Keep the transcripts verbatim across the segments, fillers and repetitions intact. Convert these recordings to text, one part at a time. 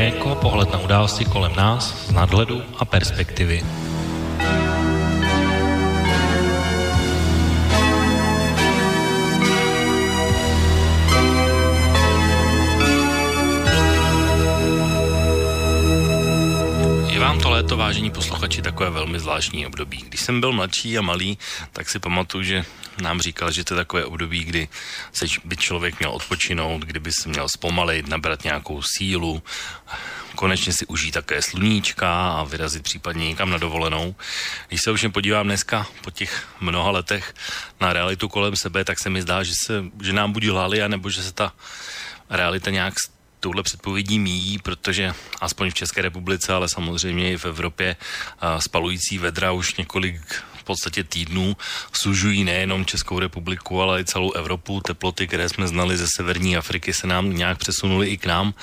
Okénko, pohled na události kolem nás z nadhledu a perspektivy. Vám to léto, vážení posluchači, takové velmi zvláštní období. Když jsem byl mladší a malý, tak si pamatuju, že nám říkal, že to je takové období, kdy se by člověk měl odpočinout, kdyby se měl zpomalit, nabrat nějakou sílu, konečně si užít také sluníčka a vyrazit případně někam na dovolenou. Když se už podívám dneska po těch mnoha letech na realitu kolem sebe, tak se mi zdá, že, se, že nám buď lhali, anebo že se ta realita nějak touhle předpovědí míjí, protože aspoň v České republice, ale samozřejmě i v Evropě spalující vedra už několik v podstatě týdnů sužují nejenom Českou republiku, ale i celou Evropu. Teploty, které jsme znali ze severní Afriky, se nám nějak přesunuly i k nám.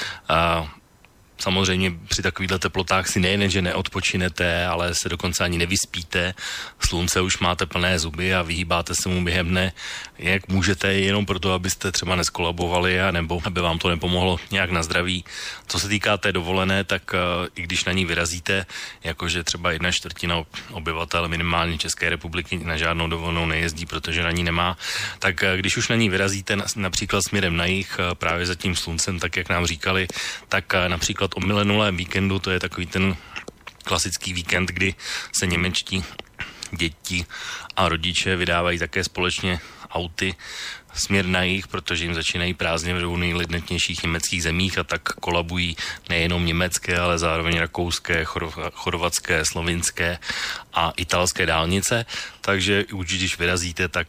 A samozřejmě při takovýchto teplotách si nejen, že neodpočinete, ale se dokonce ani nevyspíte. Slunce už máte plné zuby a vyhýbáte se mu během dne, jak můžete, jenom proto, abyste třeba neskolabovali, a nebo aby vám to nepomohlo nějak na zdraví. Co se týká té dovolené, tak uh, i když na ní vyrazíte, jakože třeba jedna čtvrtina obyvatel minimálně České republiky na žádnou dovolenou nejezdí, protože na ní nemá, tak uh, když už na ní vyrazíte na, například směrem na jih, uh, právě za tím sluncem, tak jak nám říkali, tak uh, například o milenulém víkendu, to je takový ten klasický víkend, kdy se němečtí děti a rodiče vydávají také společně auty směr na jih, protože jim začínají prázdně v dvou nejlidnatnějších německých zemích a tak kolabují nejenom německé, ale zároveň rakouské, chorvatské, slovinské a italské dálnice. Takže už když vyrazíte, tak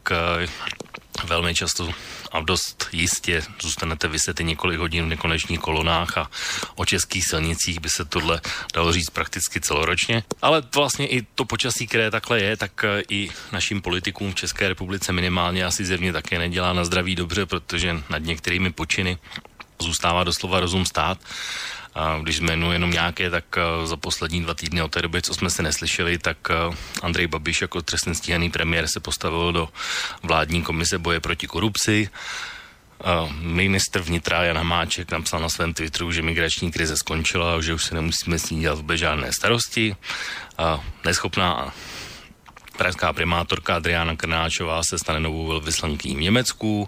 velmi často a dost jistě zůstanete vyset i několik hodin v nekonečných kolonách a o českých silnicích by se tohle dalo říct prakticky celoročně. Ale vlastně i to počasí, které takhle je, tak i našim politikům v České republice minimálně asi zjevně také nedělá na zdraví dobře, protože nad některými počiny zůstává doslova rozum stát. A když jmenu jenom nějaké, tak za poslední dva týdny od té doby, co jsme se neslyšeli, tak Andrej Babiš jako trestně stíhaný premiér se postavil do vládní komise boje proti korupci. Ministr vnitra Jan Hamáček napsal na svém Twitteru, že migrační krize skončila a že už se nemusíme s ní dělat vůbec žádné starosti. Neschopná pražská primátorka Adriána Krnáčová se stane novou velvyslankyní v Německu.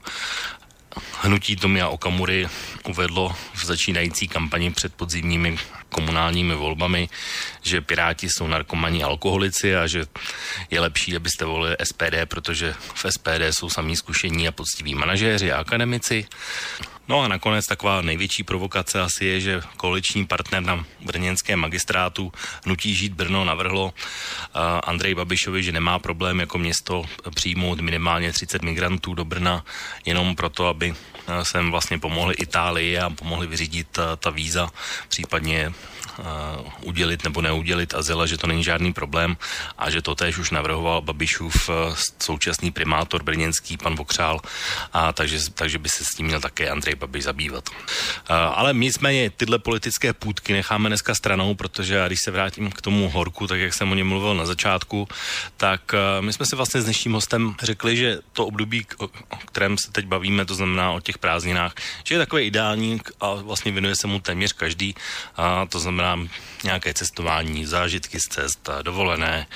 Hnutí Tomia Okamury uvedlo v začínající kampani před podzimními komunálními volbami, že Piráti jsou narkomani a alkoholici a že je lepší, abyste volili S P D, protože v S P D jsou samí zkušení a poctiví manažéři a akademici. No a nakonec taková největší provokace asi je, že koaliční partner na brněnském magistrátu Hnutí Žít Brno navrhlo uh, Andreji Babišovi, že nemá problém jako město přijmout minimálně třicet migrantů do Brna jenom proto, aby uh, sem vlastně pomohli Itálii a pomohli vyřídit uh, ta víza, případně Uh, udělit nebo neudělit azyl, že to není žádný problém a že to též už navrhoval Babišův uh, současný primátor brněnský pan Vokřál, a takže, takže by se s tím měl také Andrej Babiš zabývat. Uh, ale nicméně tyhle politické půtky necháme dneska stranou, protože když se vrátím k tomu horku, tak jak jsem o něm mluvil na začátku, tak uh, my jsme si vlastně s dnešním hostem řekli, že to období, o, o kterém se teď bavíme, to znamená o těch prázdninách, že je takové ideální a vlastně věnuje se mu téměř každý, a to znamená nějaké cestování, zážitky z cest, dovolené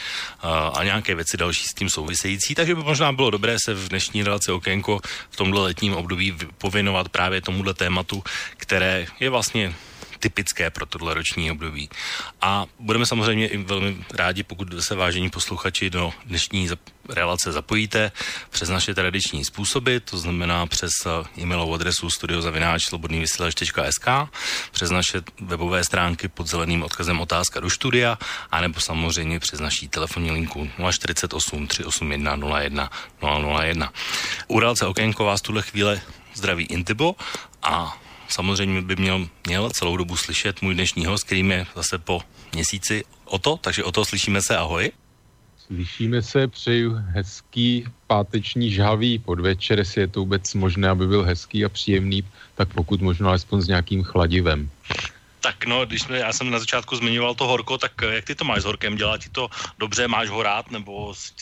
a nějaké věci další s tím související. Takže by možná bylo dobré se v dnešní relaci Okénko v tomhle letním období pověnovat právě tomuhle tématu, které je vlastně typické pro tohle roční období. A budeme samozřejmě i velmi rádi, pokud se, vážení posluchači, do dnešní relace zapojíte přes naše tradiční způsoby, to znamená přes e-mailovou adresu studio zavináč slobodný vysílač tečka es ká, přes naše webové stránky pod zeleným odkazem otázka do studia, anebo samozřejmě přes naší telefonní linku nula čtyřicet osm tři osm jedna nula jedna nula nula jedna. U relace Okénko vás tuhle chvíle zdraví Intibo a samozřejmě by měl, měl celou dobu slyšet můj dnešní host, kterým je zase po měsíci Oto, takže Oto, slyšíme se, ahoj. Slyšíme se, přeju hezký páteční žhavý podvečer, jestli je to vůbec možné, aby byl hezký a příjemný, tak pokud možno alespoň s nějakým chladivem. Tak no, když jsme, já jsem na začátku zmiňoval to horko, tak jak ty to máš s horkem? Dělá ti to dobře, máš ho rád, nebo si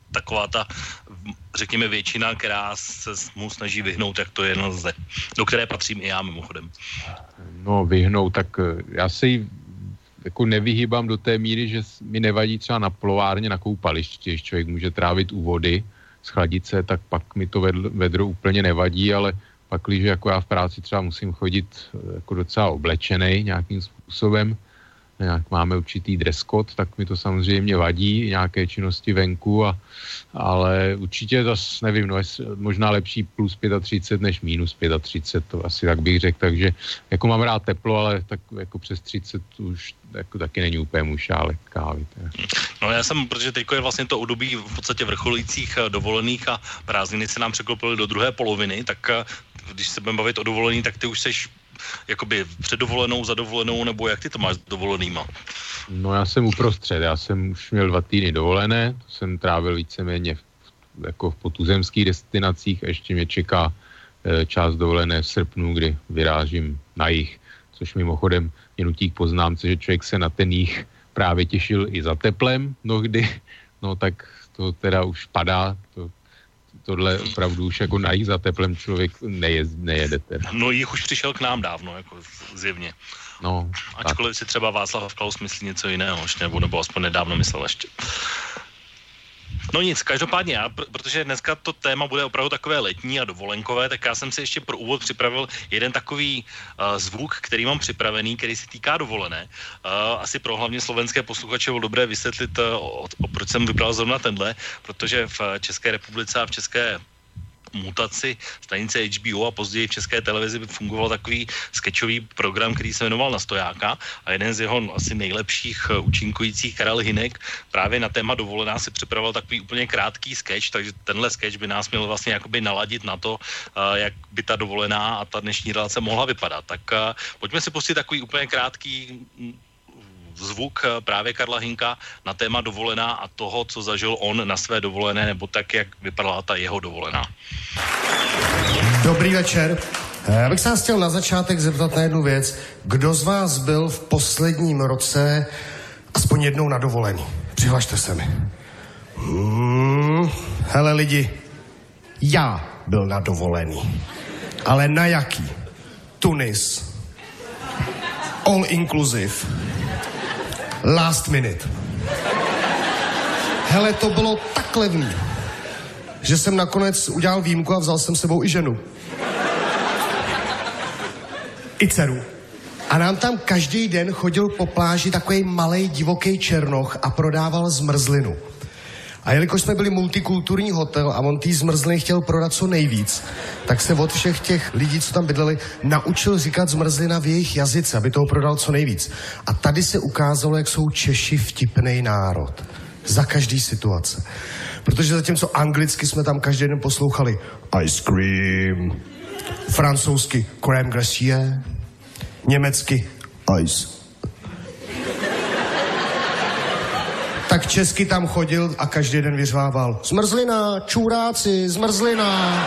taková ta, řekněme, většina, která se mu snaží vyhnout, jak to jen lze. Do které patřím i já mimochodem. No vyhnout, tak já si jako nevyhýbám do té míry, že mi nevadí třeba na plovárně, na koupališti, když člověk může trávit u vody, schladit se, tak pak mi to vedlo, vedro úplně nevadí, ale pak, když jako já v práci třeba musím chodit jako docela oblečenej nějakým způsobem, nějak máme určitý dress code, tak mi to samozřejmě vadí, nějaké činnosti venku, a, ale určitě zase nevím, no, možná lepší plus třicet pět než minus třicet pět, to asi tak bych řekl, takže jako mám rád teplo, ale tak jako přes třicet už jako taky není úplně můj šálek kávy. Teda. No já jsem, protože teďko je vlastně to období v podstatě vrcholících dovolených a prázdniny se nám překlopily do druhé poloviny, tak když se budeme bavit o dovolení, tak ty už seš jakoby před dovolenou, za dovolenou, nebo jak ty to máš s dovolenýma? No já jsem uprostřed, já jsem už měl dva týdny dovolené, to jsem trávil víceméně v, jako v potuzemských destinacích a ještě mě čeká e, část dovolené v srpnu, kdy vyrážím na jih, což mimochodem mě nutí k poznámce, že člověk se na ten jih právě těšil i za teplem mnohdy, no tak to teda už padá, to tohle opravdu už jako na jich za teplem člověk nejez, nejede teda. No jich už přišel k nám dávno, jako zjevně. No. Ačkoliv tak si třeba Václav Klaus myslí něco jiného, nebo, nebo aspoň nedávno myslel ještě. No nic, každopádně já, protože dneska to téma bude opravdu takové letní a dovolenkové, tak já jsem si ještě pro úvod připravil jeden takový uh, zvuk, který mám připravený, který se týká dovolené. Uh, asi pro hlavně slovenské posluchače bylo dobré vysvětlit, uh, o, o, proč jsem vybral zrovna tenhle, protože v České republice a v České mutaci stanice H B O a později v České televizi by fungoval takový sketchový program, který se jmenoval Na stojáka, a jeden z jeho asi nejlepších účinkujících, Karel Hynek, právě na téma dovolená si připravil takový úplně krátký sketch, takže tenhle sketch by nás měl vlastně jakoby naladit na to, jak by ta dovolená a ta dnešní relace mohla vypadat. Tak pojďme si pustit takový úplně krátký zvuk právě Karla Hynka na téma dovolená a toho, co zažil on na své dovolené, nebo tak, jak vypadala ta jeho dovolená. Dobrý večer. Já bych se vás chtěl na začátek zeptat na jednu věc. Kdo z vás byl v posledním roce aspoň jednou na dovolení? Přihlašte se mi. Hmm, hele lidi, já byl na dovolený. Ale na jaký? Tunis. All inclusive. Last minute. Hele, to bylo tak levný, že jsem nakonec udělal výjimku a vzal jsem sebou i ženu. I dceru. A nám tam každý den chodil po pláži takový malej divoký černoch a prodával zmrzlinu. A jelikož jsme byli multikulturní hotel a on tý zmrzliny chtěl prodat co nejvíc, tak se od všech těch lidí, co tam bydleli, naučil říkat zmrzlina v jejich jazyce, aby toho prodal co nejvíc. A tady se ukázalo, jak jsou Češi vtipnej národ. Za každý situace. Protože zatímco anglicky jsme tam každý den poslouchali ice cream, francouzsky crème glacée, německy ice. Tak česky tam chodil a každý den vyřvával zmrzlina, čůráci, zmrzlina.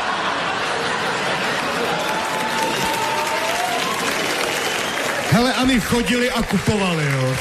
Hele, a my chodili a kupovali, jo.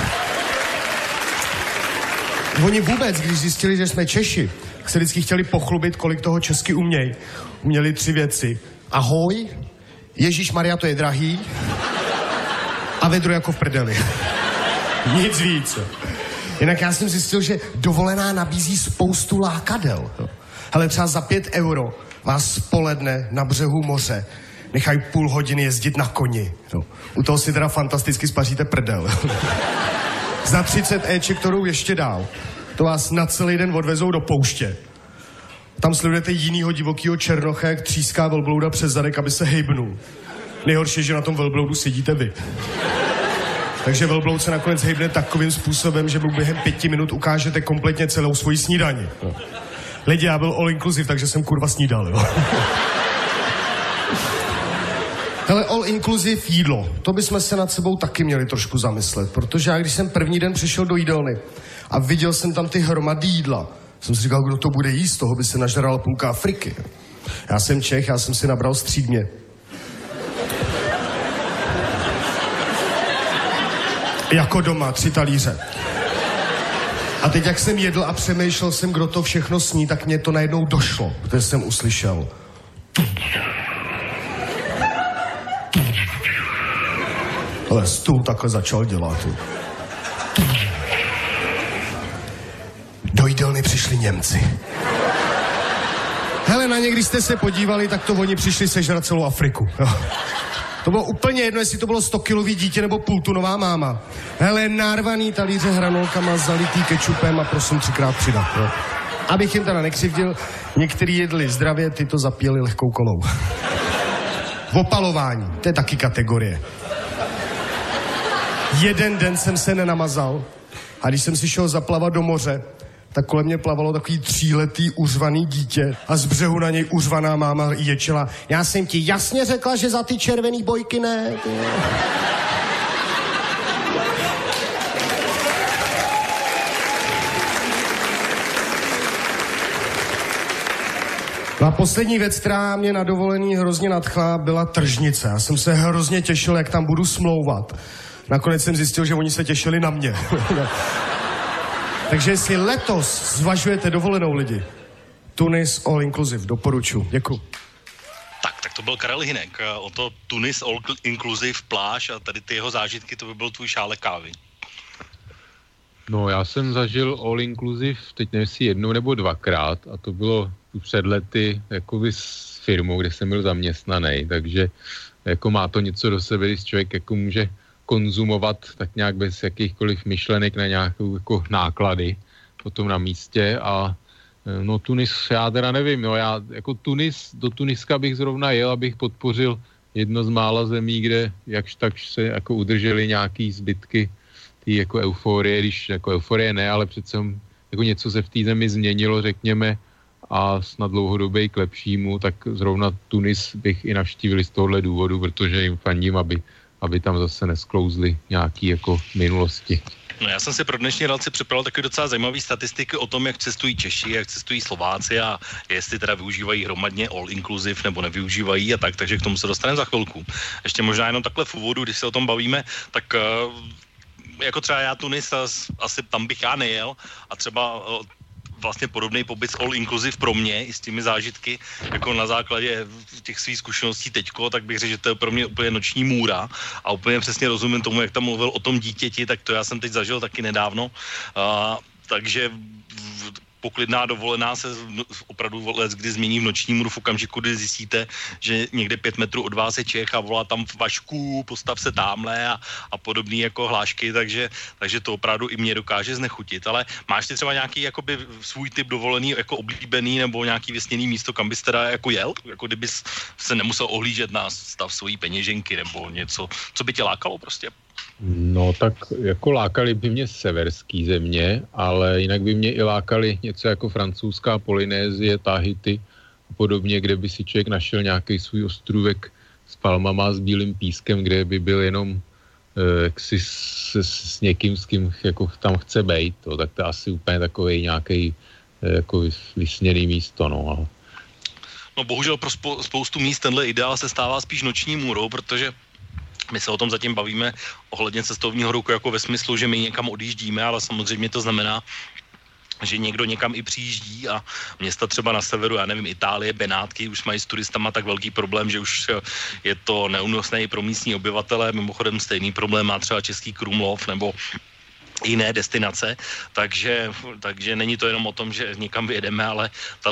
Oni vůbec, když zjistili, že jsme Češi, tak se vždycky chtěli pochlubit, kolik toho česky umějí. Uměli tři věci. Ahoj, Ježíšmarja, to je drahý, a vedro jako v prdeli. Nic víc. Jinak já jsem zjistil, že dovolená nabízí spoustu lákadel. Hele, třeba za pět euro vás spoledne na břehu moře nechají půl hodiny jezdit na koni. No. U toho si teda fantasticky spaříte prdel. Za třicet éček, kterou ještě dál, to vás na celý den odvezou do pouště. Tam sledujete jinýho divokýho černocha, jak tříská velblouda přes zadek, aby se hejbnul. Nejhorší je, že na tom velbloudu sedíte vy. Takže velbloud se nakonec hejbne takovým způsobem, že mu během pěti minut ukážete kompletně celou svoji snídani. No. Lidi, já byl all inclusive, takže jsem kurva snídal, jo. Hele, all inclusive jídlo. To bychom se nad sebou taky měli trošku zamyslet, protože já, když jsem první den přišel do jídelny a viděl jsem tam ty hromady jídla, jsem si říkal, kdo to bude jíst, toho by se nažrala půlka Afriky. Já jsem Čech, já jsem si nabral střídmě. Jako doma, tři talíře. A teď, jak jsem jedl a přemýšlel jsem, kdo to všechno sní, tak mě to najednou došlo, protože jsem uslyšel. Ale stůl takhle začal dělat. Do jídelny přišli Němci. Hele, na ně, když jste se podívali, tak to oni přišli sežrat celou Afriku. Jo. To bylo úplně jedno, jestli to bylo stokilový dítě nebo půltunová máma. Hele, narvaný talíře hranolkama, zalitý kečupem a prosím třikrát přidat. Jo. Abych jim teda nekřivdil, některý jedli zdravě, ty to zapíjeli lehkou kolou. Opalování, to je taky kategorie. Jeden den jsem se nenamazal a když jsem si šel zaplavat do moře, tak kolem mě plavalo takový tříletý uřvaný dítě a z břehu na něj uřvaná máma ječela. Já jsem ti jasně řekla, že za ty červený bojky ne. A poslední věc, která mě na dovolený hrozně nadchla, byla tržnice. Já jsem se hrozně těšil, jak tam budu smlouvat. Nakonec jsem zjistil, že oni se těšili na mě. Takže jestli letos zvažujete dovolenou lidi, Tunis all inclusive, doporučuji. Děkuji. Tak, tak to byl Karel Hynek. O to Tunis all inclusive pláž a tady ty jeho zážitky, to by byl tvůj šálek kávy. No, já jsem zažil all inclusive, teď nevím si jednou nebo dvakrát a to bylo před lety jakoby s firmou, kde jsem byl zaměstnaný, takže jako má to něco do sebe, když člověk jako může konzumovat tak nějak bez jakýchkoliv myšlenek na nějakou jako náklady potom na místě a no Tunis, já teda nevím, no já jako Tunis, do Tuniska bych zrovna jel, abych podpořil jedno z mála zemí, kde jakž tak se jako udrželi nějaký zbytky tý jako euforie, když jako euforie ne, ale přece jako něco se v té zemi změnilo, řekněme, a snad dlouhodobě k lepšímu, tak zrovna Tunis bych i navštívil z tohohle důvodu, protože jim fandím, aby aby tam zase nesklouzly nějaký jako minulosti. No já jsem si pro dnešní relaci připravil taky docela zajímavý statistiky o tom, jak cestují Češi, jak cestují Slováci a jestli teda využívají hromadně all inclusive nebo nevyužívají a tak, takže k tomu se dostaneme za chvilku. Ještě možná jenom takhle v úvodu, když se o tom bavíme, tak uh, jako třeba já Tunis, asi tam bych já nejel a třeba uh, vlastně podobný pobyt all inclusive pro mě i s těmi zážitky, jako na základě těch svých zkušeností teďko, tak bych řekl, že to je pro mě úplně noční můra a úplně přesně rozumím tomu, jak tam mluvil o tom dítěti, tak to já jsem teď zažil taky nedávno. Uh, takže poklidná dovolená se opravdu let, kdy změní v noční můru v okamžiku, kdy zjistíte, že někde pět metrů od vás je Čech a volá tam Vašku, postav se támhle a, a podobný jako hlášky, takže, takže to opravdu i mě dokáže znechutit. Ale máš ty třeba nějaký jakoby svůj typ dovolený, jako oblíbený nebo nějaký vysněný místo, kam bys teda jako jel? Jako kdybys se nemusel ohlížet na stav svojí peněženky nebo něco, co by tě lákalo prostě? No tak jako lákali by mě severský země, ale jinak by mě i lákali něco jako francouzská Polynézie, Tahiti a podobně, kde by si člověk našel nějaký svůj ostrůvek s palmama, s bílým pískem, kde by byl jenom eh, jaksi s, s někým, s kým jako tam chce bejt, to, tak to je asi úplně takový nějaký eh, jako vysněný místo, no. Ale... No bohužel pro spou- spoustu míst tenhle ideál se stává spíš noční můrou, protože my se o tom zatím bavíme ohledně cestovního ruchu jako ve smyslu, že my někam odjíždíme, ale samozřejmě to znamená, že někdo někam i přijíždí a města třeba na severu, já nevím, Itálie, Benátky, už mají s turistama tak velký problém, že už je to neúnosné i pro místní obyvatele. Mimochodem stejný problém má třeba Český Krumlov nebo jiné destinace, takže, takže není to jenom o tom, že někam vyjedeme, ale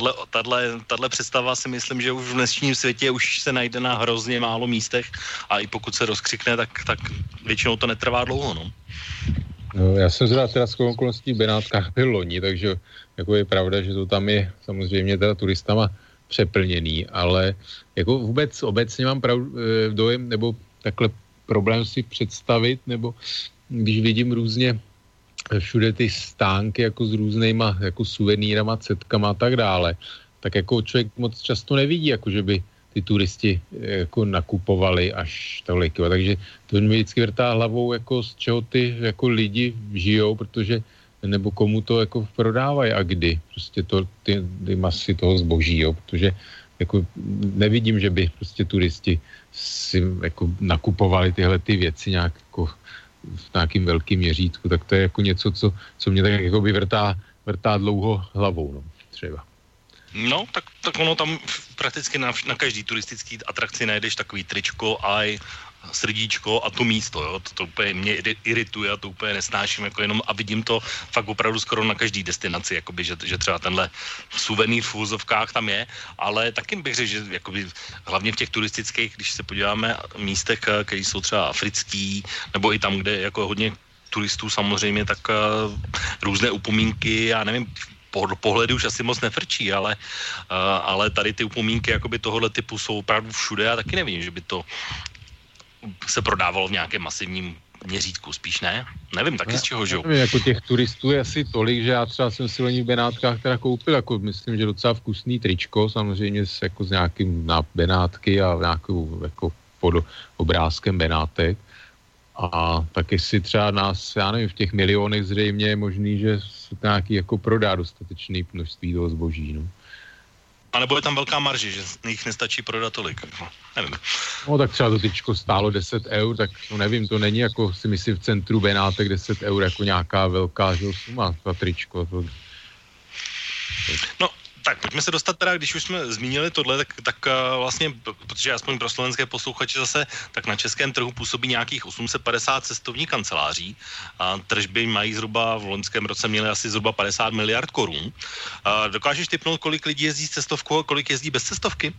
tahle představa si myslím, že už v dnešním světě už se najde na hrozně málo místech a i pokud se rozkřikne, tak, tak většinou to netrvá dlouho, no. No, já jsem zda teda s okolností v Benátkách byl loni, takže jako je pravda, že to tam je samozřejmě teda turistama přeplněný, ale jako vůbec obecně mám prav, dojem, nebo takhle problém si představit, nebo když vidím různě všude ty stánky jako s různýma jako suvenýrama, cetkama a tak dále, tak jako člověk moc často nevidí, jako že by ty turisti jako nakupovali až tolik. Takže to mi vždycky vrtá hlavou, jako z čeho ty jako lidi žijou, protože nebo komu to jako prodávají a kdy. Prostě to, ty, ty masy toho zboží, jo, protože jako nevidím, že by prostě turisti si jako nakupovali tyhle ty věci nějak jako v nějakým velkým měřítku, tak to je jako něco, co, co mě tak jako by vrtá, vrtá dlouho hlavou, no, třeba. No, tak, tak ono tam prakticky na, na každý turistický atrakci najdeš takový tričko, aj srdíčko a to místo, jo, to, to úplně mě irituje a to úplně nesnáším, jako jenom a vidím to fakt opravdu skoro na každý destinaci, jakoby, že, že třeba tenhle suvenýr v úzovkách tam je, ale taky bych řekl, že jakoby, hlavně v těch turistických, když se podíváme místech, které jsou třeba africký, nebo i tam, kde je jako hodně turistů samozřejmě, tak uh, různé upomínky, já nevím, po pohledu už asi moc nefrčí, ale, uh, ale tady ty upomínky jakoby tohohle typu jsou opravdu všude a taky nevím, že by to se prodávalo v nějakém masivním měřítku, spíš ne? Nevím taky, z čeho žijou. Jako těch turistů je asi tolik, že já třeba jsem si loni v Benátkách teda koupil, jako myslím, že docela vkusný tričko, samozřejmě s, jako s nějakým na Benátky a nějakou jako pod obrázkem Benátek. A taky si třeba nás, já nevím, v těch milionech zřejmě je možný, že se nějaký jako prodá dostatečný množství toho zboží, no. A nebo je tam velká marže, že jich nestačí prodat tolik, no, nevím. No tak třeba to tyčko stálo deset eur, tak no nevím, to není jako si myslím v centru Benátek deset eur jako nějaká velká že, suma za tričko. To... No, tak pojďme se dostat teda, když už jsme zmínili tohle, tak, tak vlastně, protože aspoň pro slovenské posluchače zase, tak na českém trhu působí nějakých osm set padesát cestovních kanceláří a tržby mají zhruba, v loňském roce měly asi zhruba padesát miliard korun. A dokážeš tipnout, kolik lidí jezdí s cestovkou a kolik jezdí bez cestovky?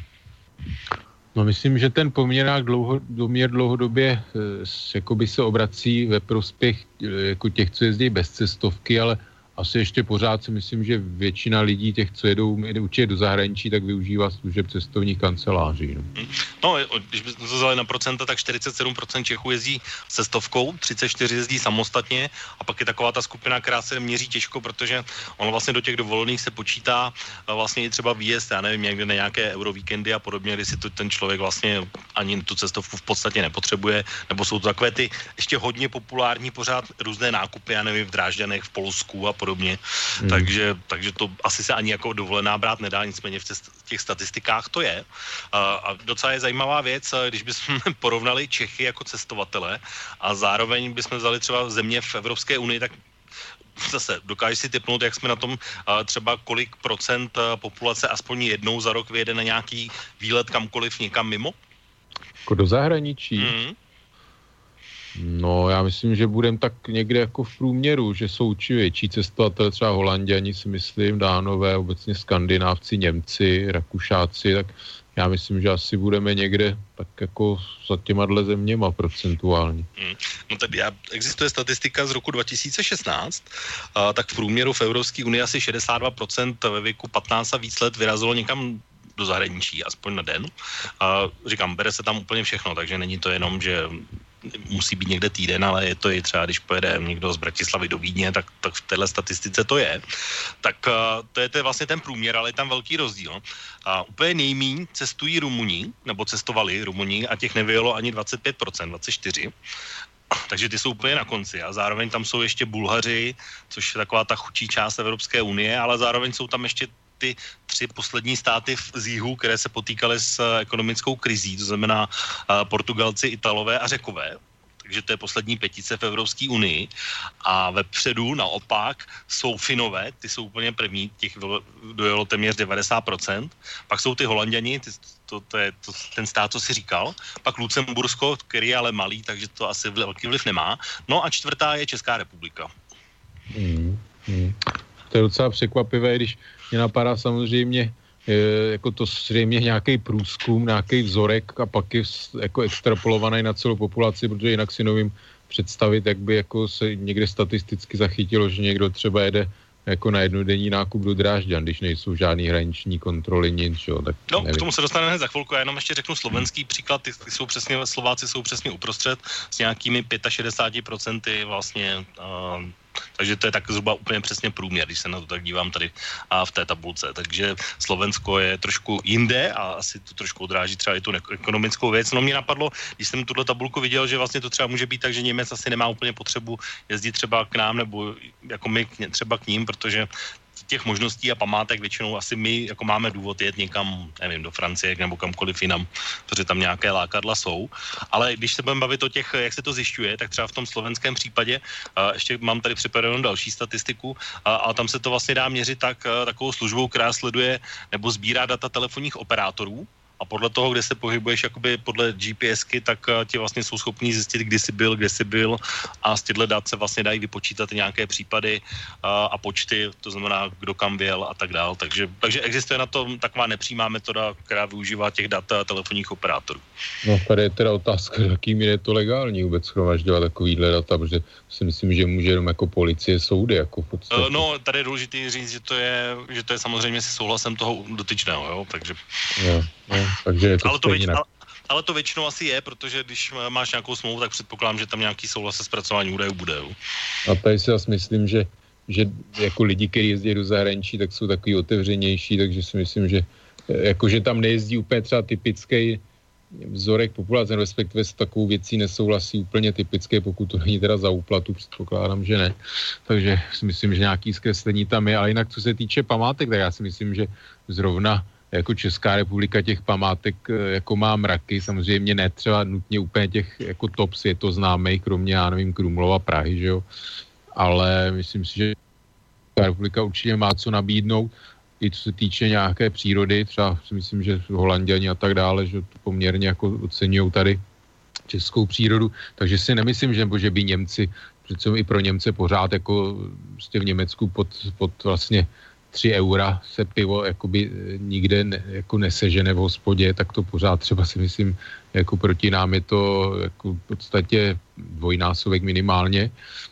No myslím, že ten poměr, dlouho, poměr dlouhodobě jako by se obrací ve prospěch jako těch, co jezdí bez cestovky, ale asi ještě pořád si myslím, že většina lidí, těch, co jedou určitě do zahraničí, tak využívá služeb cestovních kanceláří. No, no když bychom to vzali na procenta, tak čtyřicet sedm procent Čechů jezdí cestovkou, třicet čtyři procent jezdí samostatně a pak je taková ta skupina, která se měří těžko, protože ono vlastně do těch dovolených se počítá vlastně i třeba výjezd, já nevím, někde na nějaké eurovíkendy a podobně, kdy si to ten člověk vlastně ani tu cestovku v podstatě nepotřebuje, nebo jsou to takové ty ještě hodně populární pořád různé nákupy, já nevím, v Drážďanech, v Polsku a podobně, hmm. takže, takže to asi se ani jako dovolená brát nedá, nicméně v těch statistikách to je. A, a docela je zajímavá věc, když bychom porovnali Čechy jako cestovatele a zároveň bychom vzali třeba země v Evropské unii, tak zase dokážeš si tipnout, jak jsme na tom třeba kolik procent populace aspoň jednou za rok vyjede na nějaký výlet kamkoliv někam mimo? Jako do zahraničí? Hmm. No, já myslím, že budeme tak někde jako v průměru, že jsou či větší cestovatel, třeba Holanděni si myslím, Dánové, obecně Skandinávci, Němci, Rakušáci, tak já myslím, že asi budeme někde tak jako za těma dle zeměma procentuálně. Hmm. No tady já, existuje statistika z roku dva tisíce šestnáct, a, tak v průměru v Evropské unii asi šedesát dva procent ve věku patnáct a víc let vyrazilo někam do zahraničí, aspoň na den. A říkám, bere se tam úplně všechno, takže není to jenom, že musí být někde týden, ale je to i třeba, když pojede někdo z Bratislavy do Vídně, tak, tak v téhle statistice to je. Tak to je, to je vlastně ten průměr, ale je tam velký rozdíl. A úplně nejmíň cestují Rumuni, nebo cestovali Rumuni a těch nevyjelo ani dvacet pět procent, dvacet čtyři procent. Takže ty jsou úplně na konci a zároveň tam jsou ještě Bulhaři, což je taková ta chudší část Evropské unie, ale zároveň jsou tam ještě ty tři poslední státy z jihu, které se potýkaly s ekonomickou krizí, to znamená Portugalci, Italové a Řekové. Takže to je poslední pětice v Evropské unii. A vepředu naopak jsou Finové, ty jsou úplně první, těch dojelo téměř devadesát procent. Pak jsou ty Holanděni, ty, to, to je to, ten stát, co si říkal. Pak Lucembursko, který je ale malý, takže to asi velký vliv nemá. No a čtvrtá je Česká republika. Hmm, hmm. To je docela překvapivé, když mě napadá samozřejmě je, jako to zřejmě nějaký průzkum, nějaký vzorek a pak je jako extrapolovaný na celou populaci, protože jinak si nevím představit, jak by jako se někde statisticky zachytilo, že někdo třeba jede jako na jednodenní nákup do Drážďan, když nejsou žádný hraniční kontroly, nic, čo, tak no, nevím. K tomu se dostaneme hned za chvilku, já jenom ještě řeknu slovenský příklad, ty, ty jsou přesně, Slováci jsou přesně uprostřed s nějakými šedesát pět procent vlastně, uh, takže to je tak zhruba úplně přesně průměr, když se na to tak dívám tady a v té tabulce. Takže Slovensko je trošku jinde a asi to trošku odráží třeba i tu ekonomickou věc. No mě napadlo, když jsem tuhle tabulku viděl, že vlastně to třeba může být tak, že Němec asi nemá úplně potřebu jezdit třeba k nám nebo jako my třeba k ním, protože těch možností a památek většinou asi my jako máme důvod jet někam, nevím, do Francie nebo kamkoliv jinam, protože tam nějaké lákadla jsou. Ale když se budeme bavit o těch, jak se to zjišťuje, tak třeba v tom slovenském případě, uh, ještě mám tady připravenou další statistiku, uh, a tam se to vlastně dá měřit tak, uh, takovou službou, která sleduje nebo sbírá data telefonních operátorů. A podle toho, kde se pohybuješ jakoby podle GPSky, tak uh, ti vlastně jsou schopní zjistit, kdy jsi byl, kde jsi byl a z těchto dat se vlastně dají vypočítat nějaké případy uh, a počty, to znamená, kdo kam věl a tak dál. Takže, takže existuje na to taková nepřímá metoda, která využívá těch dat telefonních operátorů. No tady je teda otázka, jakým je to legální vůbec shromažďovat takovýhle data, protože si myslím, že může jenom jako policie, soudy, jako v podstatě. Uh, no, tady je důležité říct, že to je, že to je samozřejmě se souhlasem toho dotyčného, jo, takže... No, no, takže je to ale, to věč, ale, ale to většinou asi je, protože když máš nějakou smlouvu, tak předpokládám, že tam nějaký souhlas se zpracováním údajů bude. Jo. A tady si asi myslím, že, že jako lidi, kteří jezdí do zahraničí, tak jsou takový otevřenější, takže si myslím, že jako, že tam nejezdí úplně třeba typický vzorek populace, respektive s takovou věcí nesouhlasí úplně typické, pokud to není teda za úplatu, předpokládám, že ne. Takže si myslím, že nějaký zkreslení tam je, ale jinak co se týče památek, tak já si myslím, že zrovna jako Česká republika těch památek jako má mraky, samozřejmě ne třeba nutně úplně těch jako top světoznámých, kromě, já nevím, Krumlova, Prahy, že jo, ale myslím si, že Česká republika určitě má co nabídnout, i co se týče nějaké přírody, třeba si myslím, že Holanděni a tak dále, že to poměrně jako oceňují tady českou přírodu, takže si nemyslím, že, že by Němci, přece i pro Němce pořád jako prostě v Německu pod, pod vlastně tři eura se pivo jakoby nikde ne, jako nesežene v hospodě, tak to pořád třeba si myslím, jako proti nám je to jako v podstatě dvojnásobek minimálně.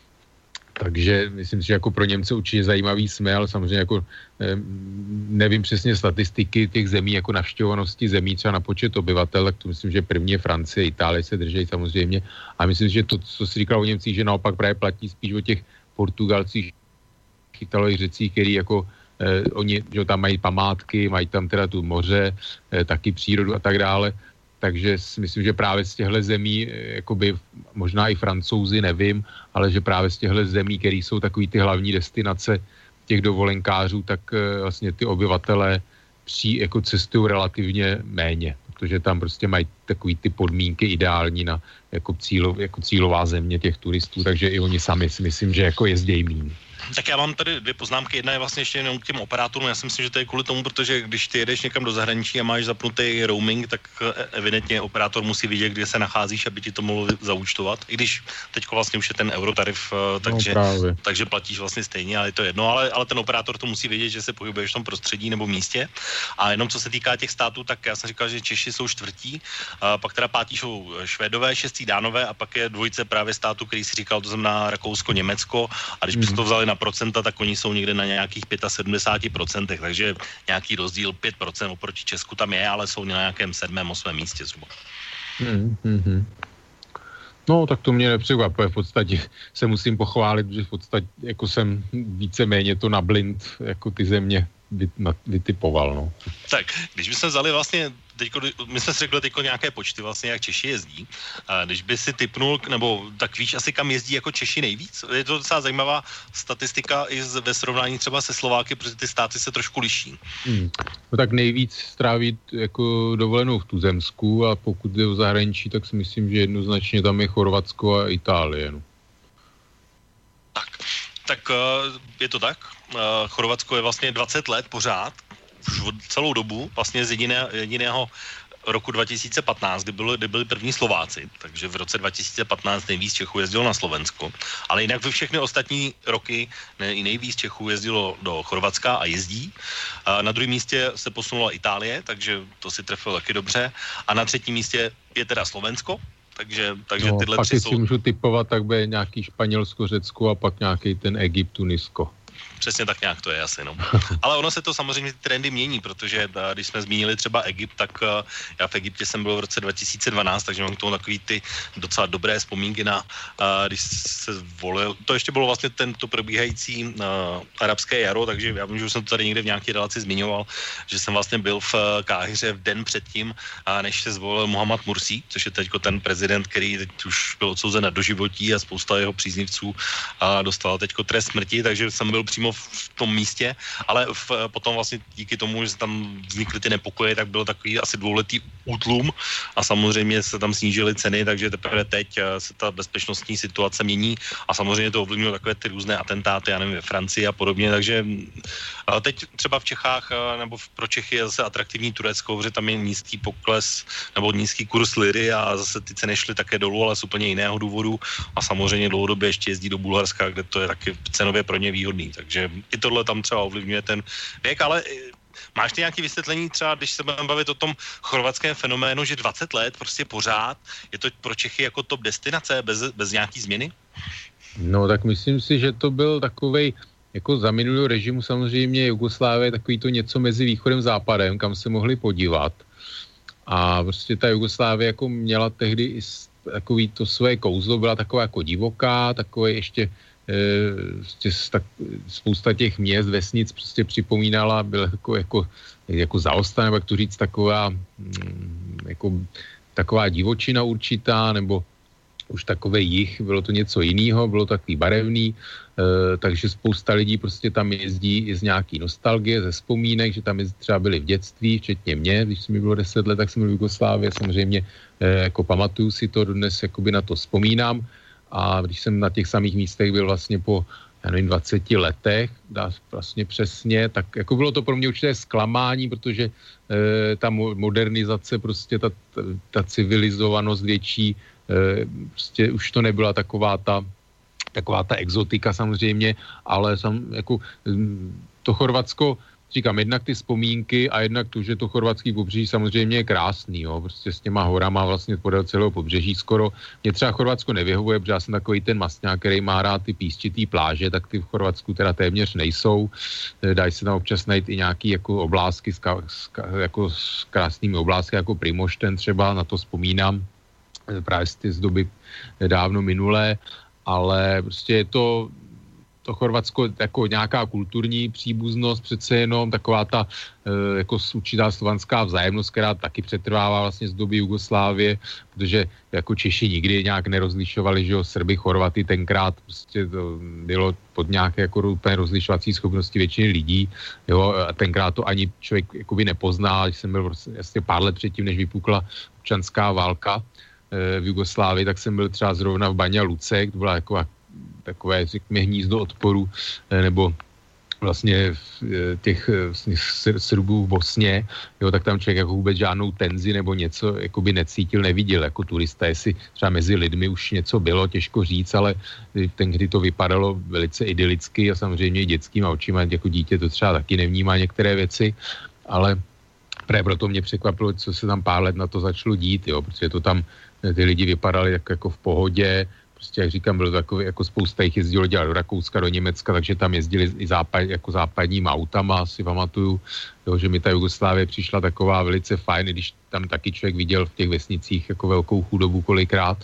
Takže myslím si, že jako pro Němce určitě zajímavý jsme, ale samozřejmě jako nevím přesně statistiky těch zemí, jako navštěvovanosti zemí třeba na počet obyvatel, tak to myslím, že první je Francie, Itálie se drží samozřejmě. A myslím si, že to, co si říkal o Němcích, že naopak právě platí spíš o těch Portugalcích, Italích, Řecích, který jako eh, oni, že tam mají památky, mají tam teda tu moře, eh, taky přírodu a tak dále. Takže si myslím, že právě z těchto zemí, jakoby možná i Francouzi, nevím, ale že právě z těchto zemí, které jsou takový ty hlavní destinace těch dovolenkářů, tak vlastně ty obyvatelé při, jako cestují relativně méně, protože tam prostě mají takový ty podmínky ideální na jako, cílo, jako cílová země těch turistů, takže i oni sami si myslím, že jako jezdějí míň. Tak já mám tady dvě poznámky. Jedna je vlastně ještě jenom k těm operátorům. Já si myslím, že to je kvůli tomu, protože když ty jedeš někam do zahraničí a máš zapnutý roaming, tak evidentně operátor musí vidět, kde se nacházíš, aby ti to mohl zaúčtovat. I když teďko vlastně už je ten eurotarif, takže, no, takže platíš vlastně stejně, ale je to jedno. Ale, ale ten operátor to musí vědět, že se pohybuješ v tom prostředí nebo místě. A jenom co se týká těch států, tak já jsem říkal, že Češi jsou čtvrtí, a pak teda pátí jsou Švédové, šestí Dánové a pak je dvojice právě států, který si říkal, to znamená Rakousko, Německo. A když byste to vzali na procenta, tak oni jsou někde na nějakých sedmdesát pět procent, takže nějaký rozdíl pět procent oproti Česku tam je, ale jsou na nějakém sedmém, osmém místě zhruba. Hmm, hmm. No, tak to mě nepřekvapuje. V podstatě se musím pochválit, že v podstatě jako jsem víceméně to na blind jako ty země vytipoval, no. Tak, když bychom vzali vlastně teďko, my jsme si řekli teďko nějaké počty vlastně, jak Češi jezdí. A když by si tipnul, nebo tak víš asi, kam jezdí jako Češi nejvíc? Je to docela zajímavá statistika i ve srovnání třeba se Slováky, protože ty státy se trošku liší. Hmm. No tak nejvíc stráví jako dovolenou v Tuzemsku a pokud jde o zahraničí, tak si myslím, že jednoznačně tam je Chorvatsko a Itálie. No. Tak, tak je to tak. Chorvatsko je vlastně dvacet let pořád, už celou dobu, vlastně z jediné, jediného roku dva tisíce patnáct, kdy, bylo, kdy byli první Slováci, takže v roce dva tisíce patnáct nejvíc Čechů jezdilo na Slovensko, ale jinak ve všechny ostatní roky nej, nejvíc Čechů jezdilo do Chorvatska a jezdí. A na druhém místě se posunula Itálie, takže to si trefilo taky dobře. A na třetím místě je teda Slovensko, takže, takže no, tyhle tři jsou... Pak si můžu tipovat, tak bude nějaký Španělsko, Řecko a pak nějaký ten Egypt, Tunisko. Přesně tak nějak to je asi, no. Ale ono se to samozřejmě ty trendy mění, protože když jsme zmínili třeba Egypt, tak já v Egyptě jsem byl v roce dva tisíce dvanáct, takže mám k tomu takový ty docela dobré vzpomínky na, když se volil, to ještě bylo vlastně tento probíhající uh, arabské jaro, takže já vím, že už jsem to tady někde v nějaké relaci zmiňoval, že jsem vlastně byl v Káhiře v den předtím, než se zvolil Mohamed Mursi, což je teďko ten prezident, který teď už byl odsouzen na doživotí a spousta jeho příznivců dostala teďko trest smrti, takže jsem byl přímo v tom místě, ale v, potom vlastně díky tomu, že se tam vznikly ty nepokoje, tak byl takový asi dvouletý útlum a samozřejmě se tam snížily ceny, takže teprve teď se ta bezpečnostní situace mění a samozřejmě to ovlivňuje takové ty různé atentáty, já nevím, ve Francii a podobně, takže teď třeba v Čechách nebo pro Čechy je zase atraktivní Turecko, protože tam je nízký pokles nebo nízký kurz liry a zase ty ceny šly také dolů, ale z úplně jiného důvodu a samozřejmě dlouhodobě ještě jezdí do Bulharska, kde to je taky cenově pro ně výhodný, takže i tohle tam třeba ovlivňuje ten věk, ale máš ty nějaké vysvětlení třeba, když se budeme bavit o tom chorvatském fenoménu, že dvacet let prostě pořád, je to pro Čechy jako top destinace bez, bez nějaký změny? No tak myslím si, že to byl takovej, jako za minulého režimu samozřejmě Jugoslávie takový to něco mezi východem a západem, kam se mohli podívat. A prostě ta Jugoslávie jako měla tehdy i takový to své kouzlo, byla taková jako divoká, takové ještě e, tak, spousta těch měst, vesnic prostě připomínala, byla jako, jako, jako zaostane, nebo jak to říct, taková mm, jako taková divočina určitá, nebo už takový jich, bylo to něco jiného, bylo takový barevný, e, takže spousta lidí prostě tam jezdí i z nějaký nostalgie, ze vzpomínek, že tam třeba byli v dětství, včetně mě, když mi bylo deset let, tak jsem byl v Jugoslávii, samozřejmě e, jako pamatuju si to, dnes jakoby na to vzpomínám a když jsem na těch samých místech byl vlastně po já nevím, dvaceti letech, dá vlastně přesně, tak jako bylo to pro mě určité zklamání, protože e, ta modernizace, prostě ta, ta civilizovanost větší, e, prostě už to nebyla taková ta, taková ta exotika samozřejmě, ale sam, jako to Chorvatsko, říkám, jednak ty vzpomínky a jednak to, že to chorvatský pobřeží samozřejmě je krásný, jo, prostě s těma horama vlastně podél celého pobřeží skoro. Mě třeba Chorvatsko nevyhovuje, protože já jsem takový ten mastňák, který má rád ty písčitý pláže, tak ty v Chorvatsku teda téměř nejsou. Dají se tam občas najít i nějaký jako oblásky, ska, ska, jako s krásnými oblásky, jako Primošten třeba, na to vzpomínám právě z, z doby dávno minulé, ale prostě je to to Chorvatsko jako nějaká kulturní příbuznost, přece jenom taková ta e, jako určitá slovanská vzájemnost, která taky přetrvává vlastně z doby Jugoslávie, protože jako Češi nikdy nějak nerozlišovali, že jo, Srby, Chorvaty, tenkrát prostě to bylo pod nějaké jako úplně rozlišovací schopnosti většiny lidí, jo, a tenkrát to ani člověk jakoby nepozná, když jsem byl vlastně pár let předtím, než vypukla občanská válka e, v Jugoslávii, tak jsem byl třeba zrovna v Banja Luce, to byla jako takové, řekněme, hnízdo odporu, nebo vlastně těch Srbů v Bosně, jo, tak tam člověk jako vůbec žádnou tenzi nebo něco jakoby necítil, neviděl jako turista, jestli třeba mezi lidmi už něco bylo, těžko říct, ale ten, kdy to vypadalo velice idylicky a samozřejmě i dětskýma očima, jako dítě to třeba taky nevnímá některé věci, ale právě proto mě překvapilo, co se tam pár let na to začalo dít, jo, protože to tam ty lidi vypadali jako, jako v pohodě, prostě, jak říkám, bylo takové, jako spousta jich jezdilo dělat do Rakouska, do Německa, takže tam jezdili i západ, jako západníma autama, si pamatuju, jo, že mi ta Jugoslávie přišla taková velice fajn, když tam taky člověk viděl v těch vesnicích jako velkou chudobu kolikrát,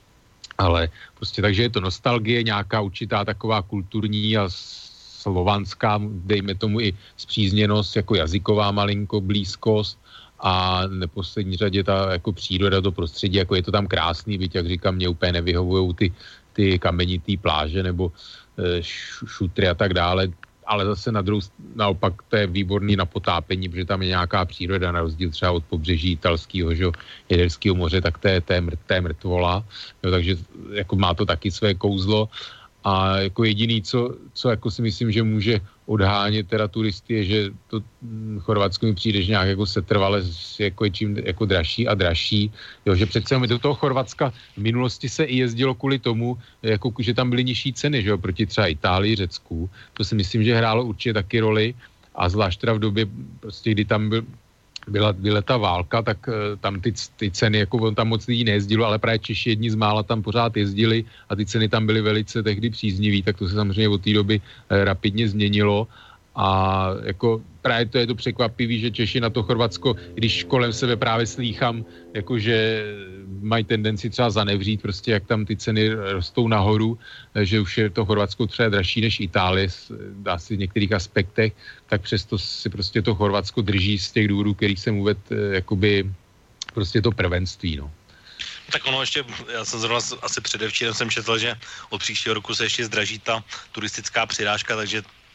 ale prostě takže je to nostalgie, nějaká určitá taková kulturní a slovanská, dejme tomu i spřízněnost, jako jazyková malinko, blízkost, a v neposlední řadě ta jako příroda, to prostředí, jako je to tam krásný, byť, jak říkám, mě úplně nevyhovujou ty, ty kamenitý pláže nebo e, šutry a tak dále, ale zase na druhou, naopak to je výborný na potápení, protože tam je nějaká příroda, na rozdíl třeba od pobřeží italského, že Jaderského moře, tak to je, to je, mrt, to je mrtvola, jo, takže jako má to taky své kouzlo. A jako jediný, co, co jako si myslím, že může odhánět teda turisty, je, že to Chorvatsko mi přijde, že nějak jako setrvale jako je čím jako dražší a dražší. Jo, že přece do toho Chorvatska v minulosti se i jezdilo kvůli tomu, jako, že tam byly nižší ceny, že jo, proti třeba Itálii, Řecku. To si myslím, že hrálo určitě taky roli a zvlášť teda v době, prostě, kdy tam byl Byla, byla ta válka, tak uh, tam ty, ty ceny, jako on tam moc lidí nejezdilo, ale právě Češi jedni z mála tam pořád jezdili a ty ceny tam byly velice tehdy příznivý, tak to se samozřejmě od té doby uh, rapidně změnilo a jako právě to je to překvapivý, že Češi na to Chorvatsko, když kolem sebe právě slýchám, jakože mají tendenci třeba zanevřít, prostě jak tam ty ceny rostou nahoru, že už je to Chorvatsko třeba dražší než Itálie, dá se v některých aspektech, tak přesto si prostě to Chorvatsko drží z těch důvodů, kterých jsem uvedl, jakoby prostě to prvenství, no. Tak ono ještě, já jsem zrovna asi předevčírem jsem četl, že od příštího roku se ještě zdraží ta turistická přirážka, takže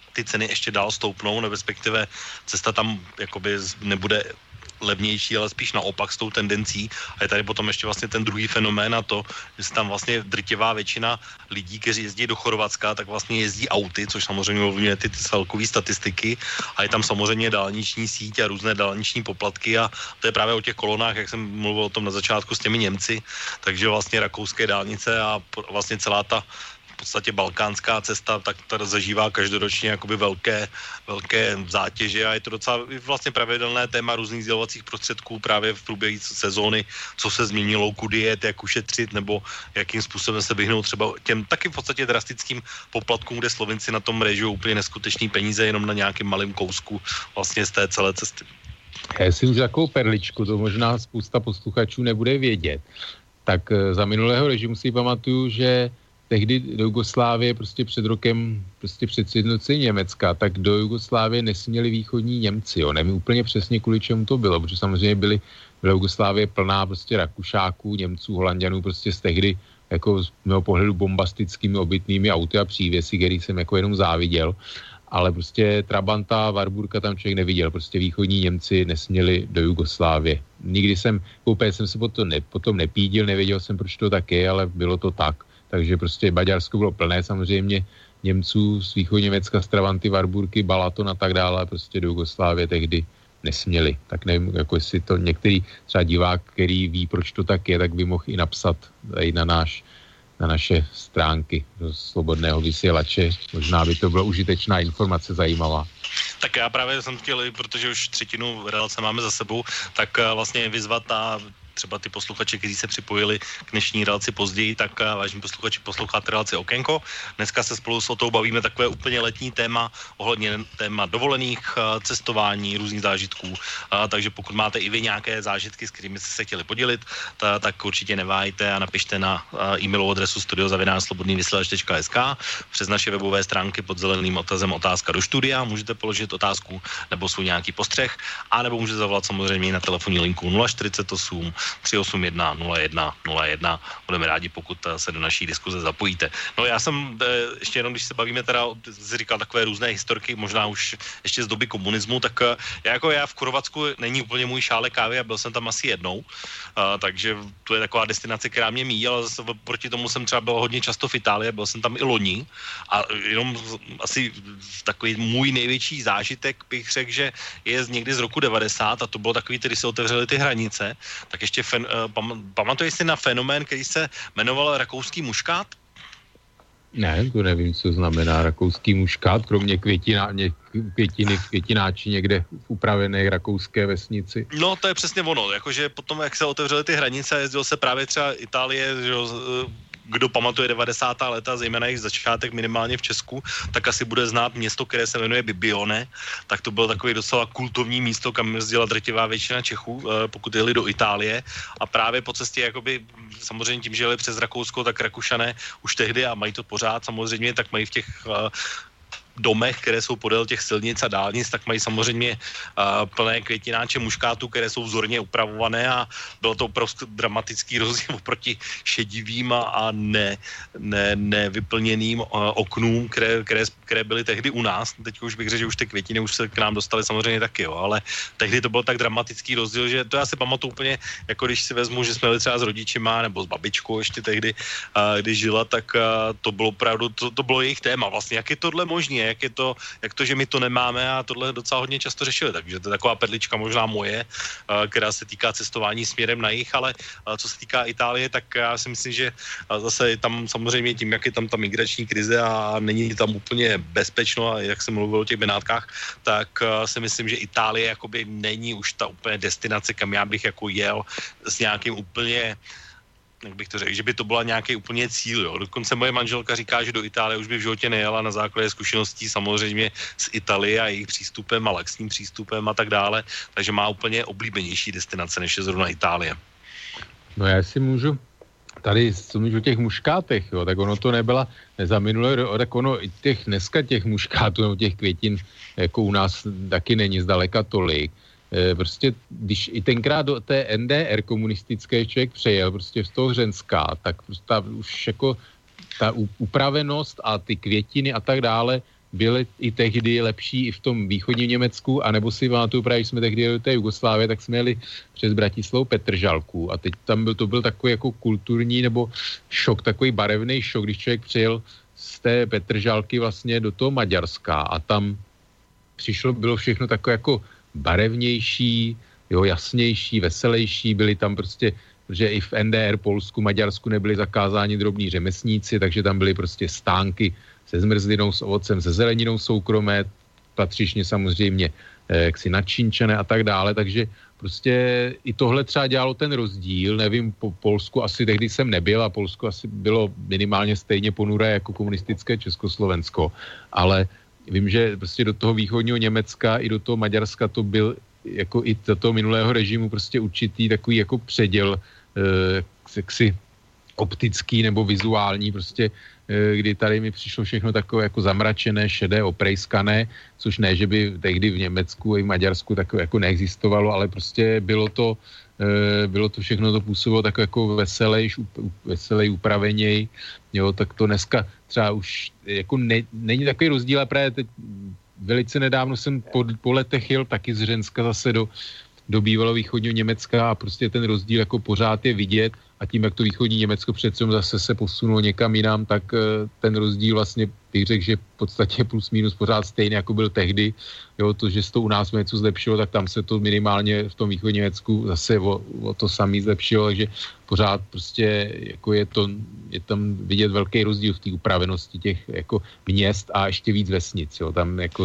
ty ceny ještě dál stoupnou, nebo respektive cesta tam jakoby nebude levnější, ale spíš naopak s tou tendencí. A je tady potom ještě vlastně ten druhý fenomén a to, že se tam vlastně drtivá většina lidí, kteří jezdí do Chorvatska, tak vlastně jezdí auty, což samozřejmě ovlivňuje ty, ty celkové statistiky a je tam samozřejmě dálniční síť a různé dálniční poplatky a to je právě o těch kolonách, jak jsem mluvil o tom na začátku s těmi Němci, takže vlastně rakouské dálnice a vlastně celá ta v podstatě balkánská cesta, tak ta zažívá každoročně jakoby velké, velké zátěže a je to docela vlastně pravidelné téma různých sdělovacích prostředků právě v průběhu sezóny, co se změnilo, kudy jet, jak ušetřit nebo jakým způsobem se vyhnout třeba těm taky v podstatě drastickým poplatkům, kde Slovinci na tom režují úplně neskutečný peníze jenom na nějakým malým kousku vlastně z té celé cesty. Já si můžu takovou perličku, to možná spousta posluchačů nebude vědět. Tak za minulého režimu si pamatuju, že tehdy do Jugoslávie prostě před rokem, prostě před sjednocením Německa, tak do Jugoslávie nesměli východní Němci, jo. Nevím úplně přesně, kvůli čemu to bylo, protože samozřejmě byly, byla Jugoslávie plná prostě Rakušáků, Němců, Holanďanů, prostě z tehdy jako z mého pohledu bombastickými obytnými auty a přívěsy, který jsem jako jenom záviděl, ale prostě Trabanta, Warburga tam člověk neviděl, prostě východní Němci nesměli do Jugoslávie. Nikdy jsem, koupil jsem se potom, ne, potom nepídil, nevěděl jsem, proč to tak je, ale bylo to tak. Takže prostě Maďarsko bylo plné samozřejmě Němců z východní Německa, z Trabanty, Warburgy, Balaton a tak dále, prostě do Jugoslávie tehdy nesměli. Tak nevím, jako jestli to některý třeba divák, který ví, proč to tak je, tak by mohl i napsat i na, náš, na naše stránky do Slobodného vysílače. Možná by to byla užitečná informace, zajímavá. Tak já právě jsem chtěl, protože už třetinu relace máme za sebou, tak vlastně vyzvat a třeba ty posluchači, kteří se připojili k dnešní relaci později, tak vážení posluchači, posloucháte relaci Okénko. Dneska se spolu s Otou bavíme takové úplně letní téma ohledně téma dovolených, cestování, různých zážitků. Takže pokud máte i vy nějaké zážitky, s kterými jste se chtěli podělit, tak určitě neváhejte a napište na e-mailovou adresu studio zavináč slobodný vysílač tečka es ká přes naše webové stránky pod zeleným otazem otázka do studia. Můžete položit otázku nebo svůj nějaký postřeh, a nebo můžete zavolat samozřejmě na telefonní linku nula čtyřicet osm tři osm jedna nula jedna nula jedna. Budeme rádi, pokud se do naší diskuze zapojíte. No já jsem, ještě jenom, když se bavíme teda, jsi říkal takové různé historky, možná už ještě z doby komunismu, tak já jako já v Chorvatsku není úplně můj šálek kávy a byl jsem tam asi jednou, a, takže to je taková destinace, která mě míjí, ale zase proti tomu jsem třeba byl hodně často v Itálii, byl jsem tam i loni a jenom asi takový můj největší zážitek bych řekl, že je někdy z roku devadesát a to bylo takový, když se otevřely ty hranice, tak ještě fen, pam, pamatuješ si na fenomén, který se jmenoval rakouský muškát? Ne, to nevím, co znamená rakouský muškát, kromě květina, ně, květiny, květináči někde v upravené rakouské vesnici. No, to je přesně ono, jakože potom, jak se otevřely ty hranice, jezdil se právě třeba Itálie, že kdo pamatuje devadesátá léta, zejména jejich začátek minimálně v Česku, tak asi bude znát město, které se jmenuje Bibione, tak to bylo takový docela kultovní místo, kam jezdila drtivá většina Čechů, pokud jeli do Itálie a právě po cestě, jakoby samozřejmě tím, že jeli přes Rakousko, tak Rakušané už tehdy a mají to pořád samozřejmě, tak mají v těch domech, které jsou podél těch silnic a dálnic, tak mají samozřejmě uh, plné květináče muškátů, které jsou vzorně upravované a bylo to opravdu dramatický rozdíl oproti šedivým a, a ne, ne, nevyplněným uh, oknům, které, které, které byly tehdy u nás. Teď už bych řekl, že už ty květiny už se k nám dostaly samozřejmě taky, jo, ale tehdy to byl tak dramatický rozdíl, že to já si pamatuju úplně, jako když si vezmu, že jsme byli třeba s rodičima nebo s babičkou ještě tehdy, uh, když žila, tak uh, to bylo opravdu, to, to bylo jejich téma vlastně, jak je tohle možné, jak je to, jak to, že my to nemáme a tohle docela hodně často řešili, takže to je taková perlička možná moje, která se týká cestování směrem na jih, ale co se týká Itálie, tak já si myslím, že zase tam samozřejmě tím, jak je tam ta migrační krize a není tam úplně bezpečno a jak jsem mluvil o těch Benátkách, tak si myslím, že Itálie jakoby není už ta úplně destinace, kam já bych jako jel s nějakým úplně, jak bych to řekl, že by to byla nějaký úplně cíl, jo. Dokonce moje manželka říká, že do Itálie už by v životě nejela na základě zkušeností samozřejmě z Itálie a jejich přístupem a laxním přístupem a tak dále, takže má úplně oblíbenější destinace, než je zrovna Itálie. No já si můžu tady mluvit o těch muškátech, jo, tak ono to nebyla za minulé, tak ono i těch dneska těch muškátů nebo těch květin jako u nás taky není zdaleka tolik. Prostě, když i tenkrát do té N D R komunistické člověk přejel prostě z toho Hřenska, tak prostě ta, už jako ta upravenost a ty květiny a tak dále byly i tehdy lepší i v tom východním Německu, anebo si pamatuju právě, když jsme tehdy jeli do té Jugoslávie, tak jsme jeli přes Bratislavu Petržalku a teď tam byl, to byl takový jako kulturní nebo šok, takový barevný šok, když člověk přijel z té Petržalky vlastně do toho Maďarska a tam přišlo, bylo všechno takové jako barevnější, jo, jasnější, veselější, byli tam prostě, že i v N D R, Polsku, Maďarsku nebyli zakázáni drobní řemeslníci, takže tam byly prostě stánky se zmrzlinou, s ovocem, se zeleninou soukromé, patřičně samozřejmě eh, jaksi načínčené a tak dále, takže prostě i tohle třeba dělalo ten rozdíl, nevím, po Polsku asi tehdy jsem nebyl a Polsko asi bylo minimálně stejně ponuré jako komunistické Československo, ale vím, že prostě do toho východního Německa i do toho Maďarska to byl jako i do toho minulého režimu prostě určitý takový jako předěl eh, jaksi optický nebo vizuální prostě, kdy tady mi přišlo všechno takové jako zamračené, šedé, oprejskané, což ne, že by tehdy v Německu i v Maďarsku takové jako neexistovalo, ale prostě bylo to, bylo to všechno, to působilo tak jako veselej, veselej, upraveněj, jo, tak to dneska třeba už jako ne, není takový rozdíl, a právě teď velice nedávno jsem po, po letech jel taky z Řenska zase do, do bývalého východního Německa a prostě ten rozdíl jako pořád je vidět a tím, jak to východní Německo přece zase se posunulo někam jinam, tak ten rozdíl vlastně bych řekl, že v podstatě plus minus pořád stejný, jako byl tehdy. Jo, to, že se to u nás něco zlepšilo, tak tam se to minimálně v tom východním Německu zase o, o to samý zlepšilo, takže pořád prostě jako je, to, je tam vidět velký rozdíl v té upravenosti těch jako měst a ještě víc vesnic. Jo, tam jako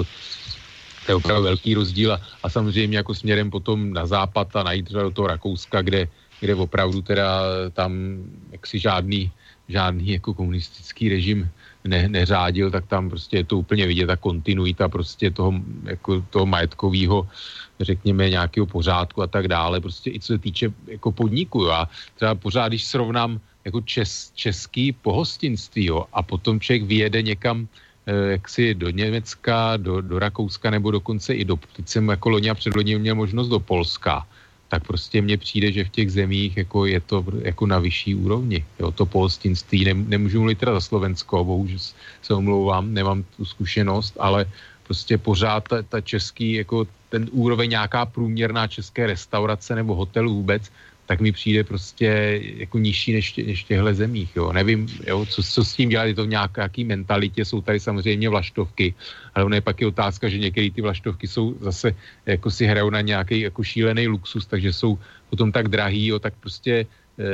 to je opravdu velký rozdíl a, a samozřejmě jako směrem potom na západ a najít do toho Rakouska, kde kde opravdu teda tam jaksi žádný, žádný jako komunistický režim ne, neřádil, tak tam prostě je to úplně vidět, ta kontinuita prostě toho, jako toho majetkového, řekněme, nějakého pořádku a tak dále, prostě i co se týče jako podniku, jo. A třeba pořád, když srovnám jako čes, český pohostinství, jo, a potom člověk vyjede někam jaksi do Německa, do, do Rakouska nebo dokonce i do, teď jsem jako loni a předloni měl možnost do Polska, tak prostě mně přijde, že v těch zemích jako je to jako na vyšší úrovni. Jo, to pohostinství, Nem, nemůžu mluvit teda za Slovensko, bohužel se omlouvám, nemám tu zkušenost, ale prostě pořád ta, ta český, jako ten úroveň nějaká průměrná české restaurace nebo hotelu vůbec, tak mi přijde prostě jako nižší než, než v těchto zemích. Jo. Nevím, jo, co, co s tím dělat, je to v nějaké mentalitě, jsou tady samozřejmě vlaštovky, ale ono je pak i otázka, že některé ty vlaštovky jsou zase, jako si hrajou na nějaký jako šílený luxus, takže jsou potom tak drahý, jo, tak prostě e,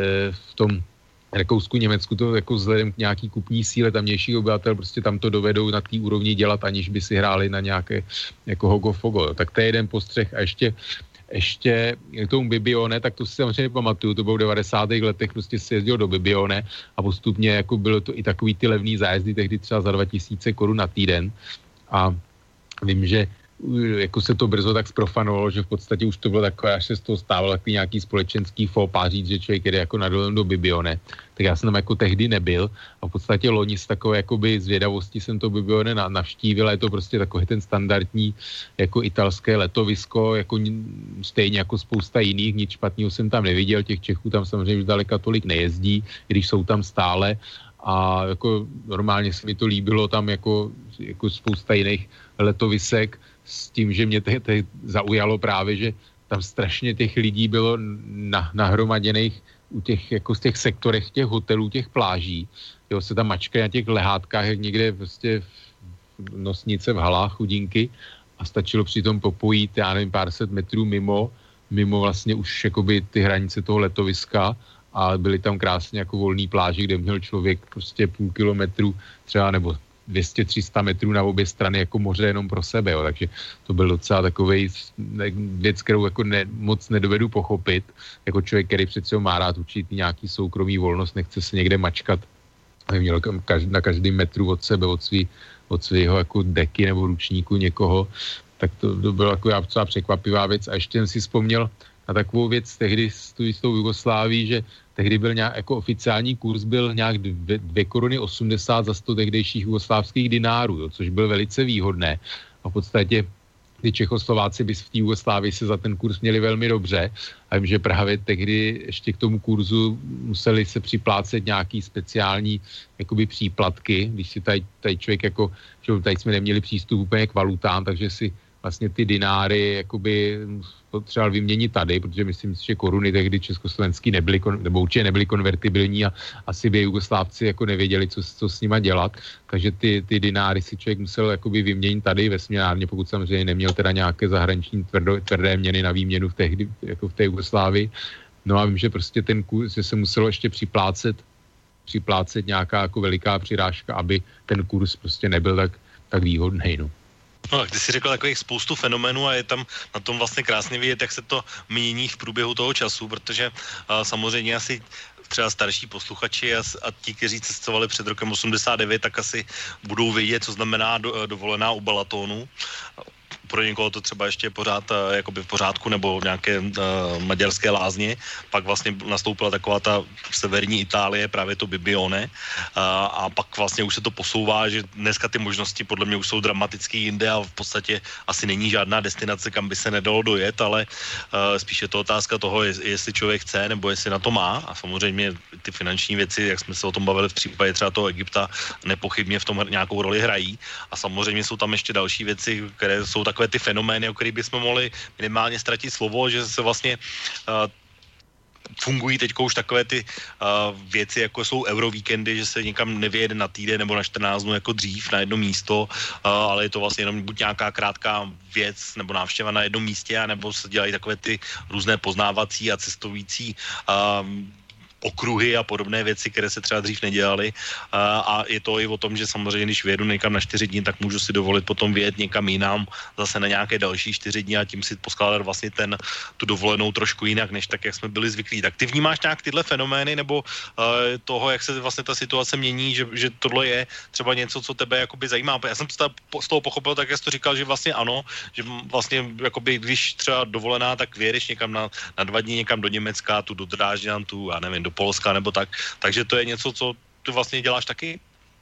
v tom Rakousku, Německu to jako vzhledem k nějaký kupní síle tamnějších obyvatel prostě tam to dovedou na té úrovni dělat, aniž by si hráli na nějaké jako hogo-fogo. Jo. Tak to je jeden postřeh a ještě ještě k tomu Bibione, tak to si samozřejmě pamatuju, to bylo v devadesátých letech, prostě si jezdil do Bibione a postupně jako bylo to i takový ty levný zájezdy, tehdy třeba za dva tisíce korun na týden a vím, že jako se to brzo tak zprofanovalo, že v podstatě už to bylo takové, až se z toho stávalo takový nějaký společenský fópa říct, že člověk jde jako na dovolenou do Bibione. Tak já jsem tam jako tehdy nebyl a v podstatě loni z takové jakoby zvědavosti jsem to Bibione navštívil a je to prostě takový ten standardní jako italské letovisko, jako stejně jako spousta jiných, nic špatného jsem tam neviděl, těch Čechů tam samozřejmě už daleka tolik nejezdí, když jsou tam stále a jako normálně se mi to líbilo tam jako, jako spousta jiných letovisek, s tím, že mě te, te zaujalo právě, že tam strašně těch lidí bylo na, nahromaděných u těch, jako z těch sektorech těch hotelů, těch pláží. Jo, se tam mačkají na těch lehátkách, jak někde prostě v nosnice v halách chudinky a stačilo přitom popojít, já nevím, pár set metrů mimo, mimo vlastně už jakoby ty hranice toho letoviska a byly tam krásně jako volný pláže, kde měl člověk prostě půl kilometru třeba nebo dvě stě tři sta metrů na obě strany jako moře jenom pro sebe, jo. Takže to byl docela takovej věc, kterou jako ne, moc nedovedu pochopit, jako člověk, který přece má rád určitý nějaký soukromý volnost, nechce se někde mačkat, aby měl na každém metru od sebe, od, svý, od svého jako deky nebo ručníku někoho, tak to, to byla taková docela překvapivá věc a ještě jsem si vzpomněl na takovou věc tehdy s tou Jugosláví, že tehdy byl nějak, jako oficiální kurz byl nějak dvě koruny osmdesát za sto tehdejších jugoslávských dinárů, jo, což byl velice výhodné. A v podstatě ty Čechoslováci by v té Jugoslávii se za ten kurz měli velmi dobře. A vím, že právě tehdy ještě k tomu kurzu museli se připlácet nějaký speciální jakoby příplatky, když si tady, tady člověk jako, že tady jsme neměli přístup úplně k valutám, takže si vlastně ty dináry jakoby potřeboval vyměnit tady, protože myslím si, že koruny tehdy československý nebyly, nebo určitě nebyly konvertibilní a asi by Jugoslávci jako nevěděli, co, co s nima dělat, takže ty, ty dináry si člověk musel jakoby vyměnit tady ve směnárně, pokud samozřejmě neměl teda nějaké zahraniční tvrdo, tvrdé měny na výměnu v tehdy, jako v té Jugoslávii. No a vím, že prostě ten kurz, že se muselo ještě připlácet, připlácet nějaká jako veliká přirážka, aby ten kurz prostě nebyl tak, tak výhodný, no. No, ty jsi řekl takových spoustu fenomenů a je tam na tom vlastně krásně vidět, jak se to mění v průběhu toho času, protože uh, samozřejmě asi třeba starší posluchači a, a ti, kteří cestovali před rokem osmdesát devět, tak asi budou vědět, co znamená do, dovolená u Balatonu. Pro někoho to třeba ještě pořád uh, jakoby v pořádku nebo nějaké uh, maďarské lázně. Pak vlastně nastoupila taková ta severní Itálie, právě to Bibione. Uh, a pak vlastně už se to posouvá, že dneska ty možnosti podle mě už jsou dramaticky jinde a v podstatě asi není žádná destinace, kam by se nedalo dojet, ale uh, spíš je to otázka toho, jestli člověk chce nebo jestli na to má. A samozřejmě ty finanční věci, jak jsme se o tom bavili v případě třeba toho Egypta, nepochybně v tom nějakou roli hrají. A samozřejmě jsou tam ještě další věci, které jsou takové ty fenomény, o kterých bychom mohli minimálně ztratit slovo, že se vlastně uh, fungují teď už takové ty uh, věci, jako jsou eurovíkendy, že se někam nevyjede na týden nebo na čtrnáct dnů jako dřív na jedno místo, uh, ale je to vlastně jenom buď nějaká krátká věc nebo návštěva na jednom místě, anebo se dělají takové ty různé poznávací a cestující uh, okruhy a podobné věci, které se třeba dřív nedělaly. A je to i o tom, že samozřejmě, když vyjedu někam na čtyři dny, tak můžu si dovolit potom vyjet někam jinam zase na nějaké další čtyři dny a tím si poskládat vlastně ten, tu dovolenou trošku jinak, než tak, jak jsme byli zvyklí. Tak ty vnímáš nějak tyhle fenomény nebo uh, toho, jak se vlastně ta situace mění, že, že tohle je třeba něco, co tebe jakoby zajímá? Já jsem to z toho pochopil, tak jak jsi to říkal, že vlastně ano, že vlastně jakoby, když třeba dovolená, tak vyjedeš někam na, na dva dny někam do Německa, tu do Drážďan, tu, já nevím, do Polska nebo tak. Takže to je něco, co ty vlastně děláš taky?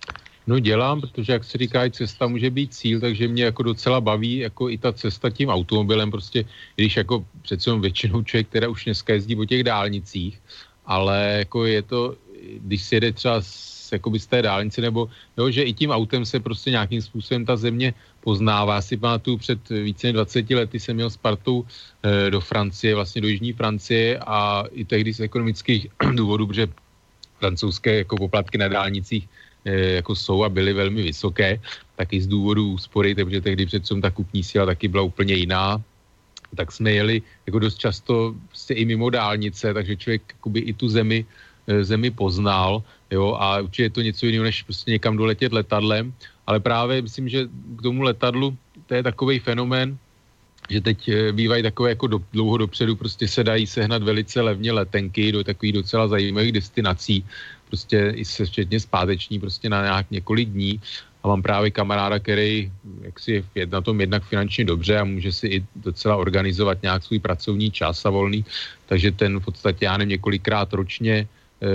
No dělám, protože jak se říká, cesta může být cíl, takže mě jako docela baví jako i ta cesta tím automobilem, prostě když jako přece většinou člověk, která už dneska jezdí po těch dálnicích, ale jako je to, když si jede třeba z, jakoby z té dálnice, nebo jo, že i tím autem se prostě nějakým způsobem ta země poznává. Já si pamatuju, před více než dvaceti lety jsem měl s partou e, do Francie, vlastně do jižní Francie a i tehdy z ekonomických důvodů, protože francouzské jako poplatky na dálnicích e, jako jsou a byly velmi vysoké, tak i z důvodu úspory, protože tehdy přece ta kupní síla taky byla úplně jiná, tak jsme jeli jako dost často prostě i mimo dálnice, takže člověk jakoby i tu zemi, e, zemi poznal, jo, a určitě je to něco jiného, než prostě někam doletět letadlem, ale právě myslím, že k tomu letadlu to je takovej fenomén, že teď bývají takové jako do, dlouho dopředu, prostě se dají sehnat velice levně letenky do takových docela zajímavých destinací, prostě i se včetně zpáteční, prostě na nějak několik dní. A mám právě kamaráda, který jaksi je na tom jednak finančně dobře a může si i docela organizovat nějak svůj pracovní čas a volný, takže ten v podstatě, já nevím, několikrát ročně e,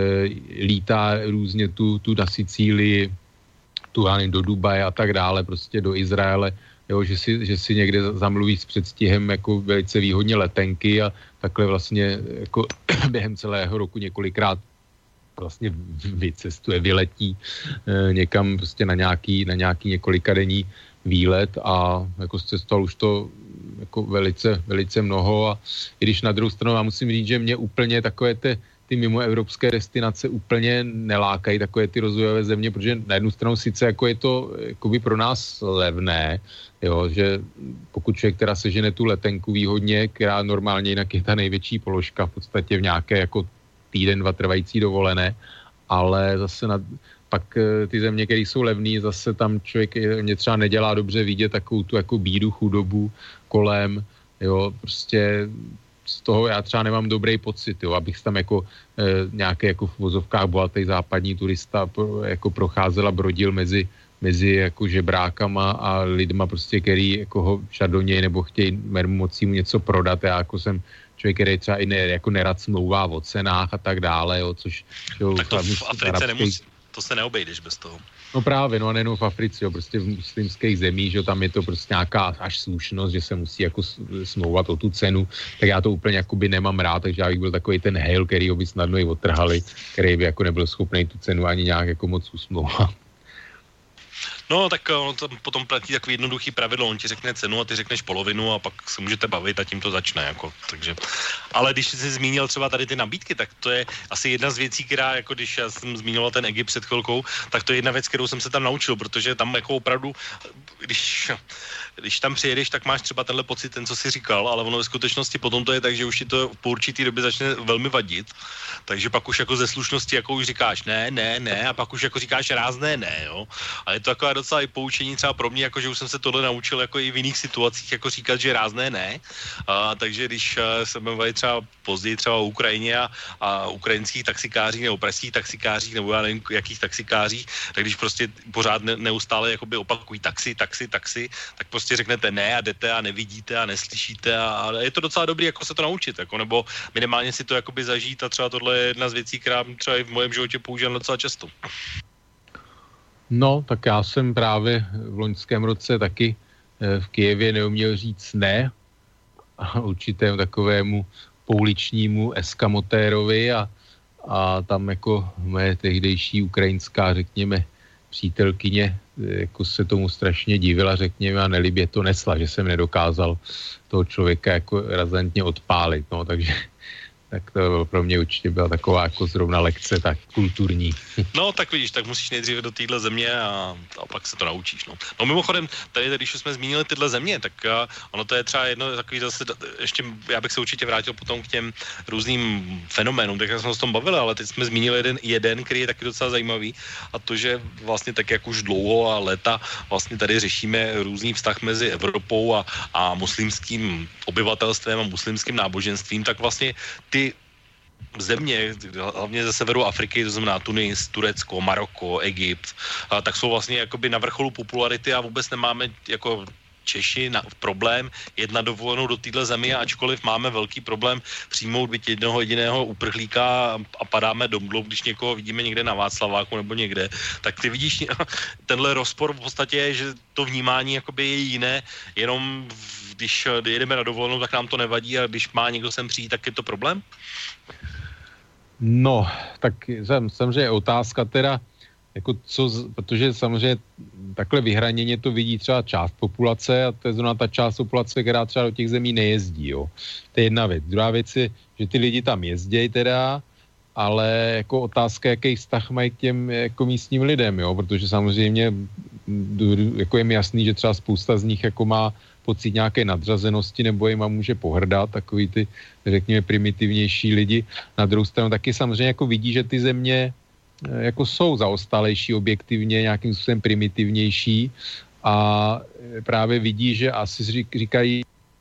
lítá různě tu, tu na Sicílii, tu, já nevím, do Dubaje a tak dále, prostě do Izraele, jo, že si, že si někde zamluví s předstihem jako velice výhodně letenky a takhle vlastně jako během celého roku několikrát vlastně vycestuje, vyletí e, někam prostě na nějaký, na nějaký několikadenní výlet a jako cestoval už to jako velice, velice mnoho a i když na druhou stranu já musím říct, že mě úplně takové ty ty mimoevropské destinace úplně nelákají takové ty rozvojové země, protože na jednu stranu sice jako je to jakoby pro nás levné, jo, že pokud člověk teda sežene tu letenku výhodně, která normálně jinak je ta největší položka v podstatě v nějaké jako týden, dva trvající dovolené, ale zase na, pak ty země, které jsou levné, zase tam člověk mě třeba nedělá dobře vidět takovou tu jako bídu, chudobu kolem, jo, prostě z toho já třeba nemám dobrý pocit, jo, abych tam jako e, nějaké jako v vozovkách bohatý západní turista pro, jako procházel a brodil mezi, mezi jako žebrákama a lidma prostě, který jako ho šadoněj nebo chtějí moci mu něco prodat. Já jako jsem člověk, který třeba i ne, jako nerad smlouvá o cenách a tak dále, jo, což... Jo, tak to v Africe nemusí, to se neobejdeš bez toho. No právě, no a nejenom v Africe, jo, prostě v muslimských zemích, že tam je to prostě nějaká až slušnost, že se musí jako smlouvat o tu cenu, tak já to úplně jakoby nemám rád, takže já bych byl takový ten hejl, který ho by snadno i odtrhali, který by jako nebyl schopný tu cenu ani nějak jako moc usmlouvat. No, tak on to potom platí takový jednoduchý pravidlo, on ti řekne cenu a ty řekneš polovinu a pak se můžete bavit a tím to začne, jako, takže. Ale když jsi zmínil třeba tady ty nabídky, tak to je asi jedna z věcí, která, jako když já jsem zmínil ten Egypt před chvilkou, tak to je jedna věc, kterou jsem se tam naučil, protože tam jako opravdu, když, když tam přijedeš, tak máš třeba tenhle pocit, ten, co jsi říkal, ale ono ve skutečnosti potom to je tak, že už ti to po určitý době začne velmi vadit, takže pak už jako ze slušnosti jako už říkáš ne, ne, ne a pak už jako říkáš rázné ne, jo. A je to taková docela i poučení třeba pro mě, jako že už jsem se tohle naučil jako i v jiných situacích, jako říkat, že rázné ne. A, takže když se bavili třeba později třeba o Ukrajině a, a ukrajinských taxikářích nebo pražských taxikářích nebo já nevím jakých taxikářích, tak když prostě pořád ne, neustále jakoby opakují taxi, taxi, taxi, tak prostě řeknete ne a jdete a nevidíte a neslyšíte a, a je to docela dobrý jako se to naučit, jako, nebo minimálně si to jakoby zažít a třeba tohle je jedna z věcí, která třeba i v mém životě používám docela často. No, tak já jsem právě v loňském roce taky v Kyjevě neuměl říct ne a určitému takovému pouličnímu eskamotérovi a, a tam jako moje tehdejší ukrajinská, řekněme, přítelkyně jako se tomu strašně divila, řekněme, a nelibě to nesla, že jsem nedokázal toho člověka jako razantně odpálit, no, takže tak to pro mě určitě byla taková jako zrovna lekce, tak kulturní. No, tak vidíš, tak musíš nejdříve do téhle země a, a pak se to naučíš, no. No mimochodem, tady, když jsme zmínili tyhle země, tak uh, ono to je třeba jedno takový zase, ještě já bych se určitě vrátil potom k těm různým fenoménům, tak jsme se o tom bavili, ale teď jsme zmínili jeden, jeden, který je taky docela zajímavý a to, že vlastně tak jak už dlouho a léta vlastně tady řešíme různý vztah mezi Evropou a, a muslimským obyvatelstvem a muslimským náboženstvím, tak vlastně ty země, hlavně ze severu Afriky, to znamená Tunis, Turecko, Maroko, Egypt, a tak jsou vlastně jakoby na vrcholu popularity a vůbec nemáme jako Češi na, problém jet na dovolenou do téhle země, ačkoliv máme velký problém přijmout byť jednoho jediného uprchlíka a padáme do mdlu, když někoho vidíme někde na Václaváku nebo někde, tak ty vidíš tenhle rozpor v podstatě je, že to vnímání jakoby je jiné, jenom když jedeme na dovolenou, tak nám to nevadí a když má někdo sem přijít, tak je to problém? No, tak samozřejmě je otázka teda, jako co, protože samozřejmě takhle vyhraněně to vidí třeba část populace a to je zrovna ta část populace, která třeba do těch zemí nejezdí, jo. To je jedna věc. Druhá věc je, že ty lidi tam jezdějí teda, ale jako otázka, jaký vztah mají k těm jako místním lidem, jo, protože samozřejmě jako je mi jasný, že třeba spousta z nich jako má pocit nějaké nadřazenosti nebo jim může pohrdat, takový ty, řekněme, primitivnější lidi. Na druhou stranu taky samozřejmě jako vidí, že ty země jako jsou zaostalejší, objektivně nějakým způsobem primitivnější a právě vidí, že asi říkají,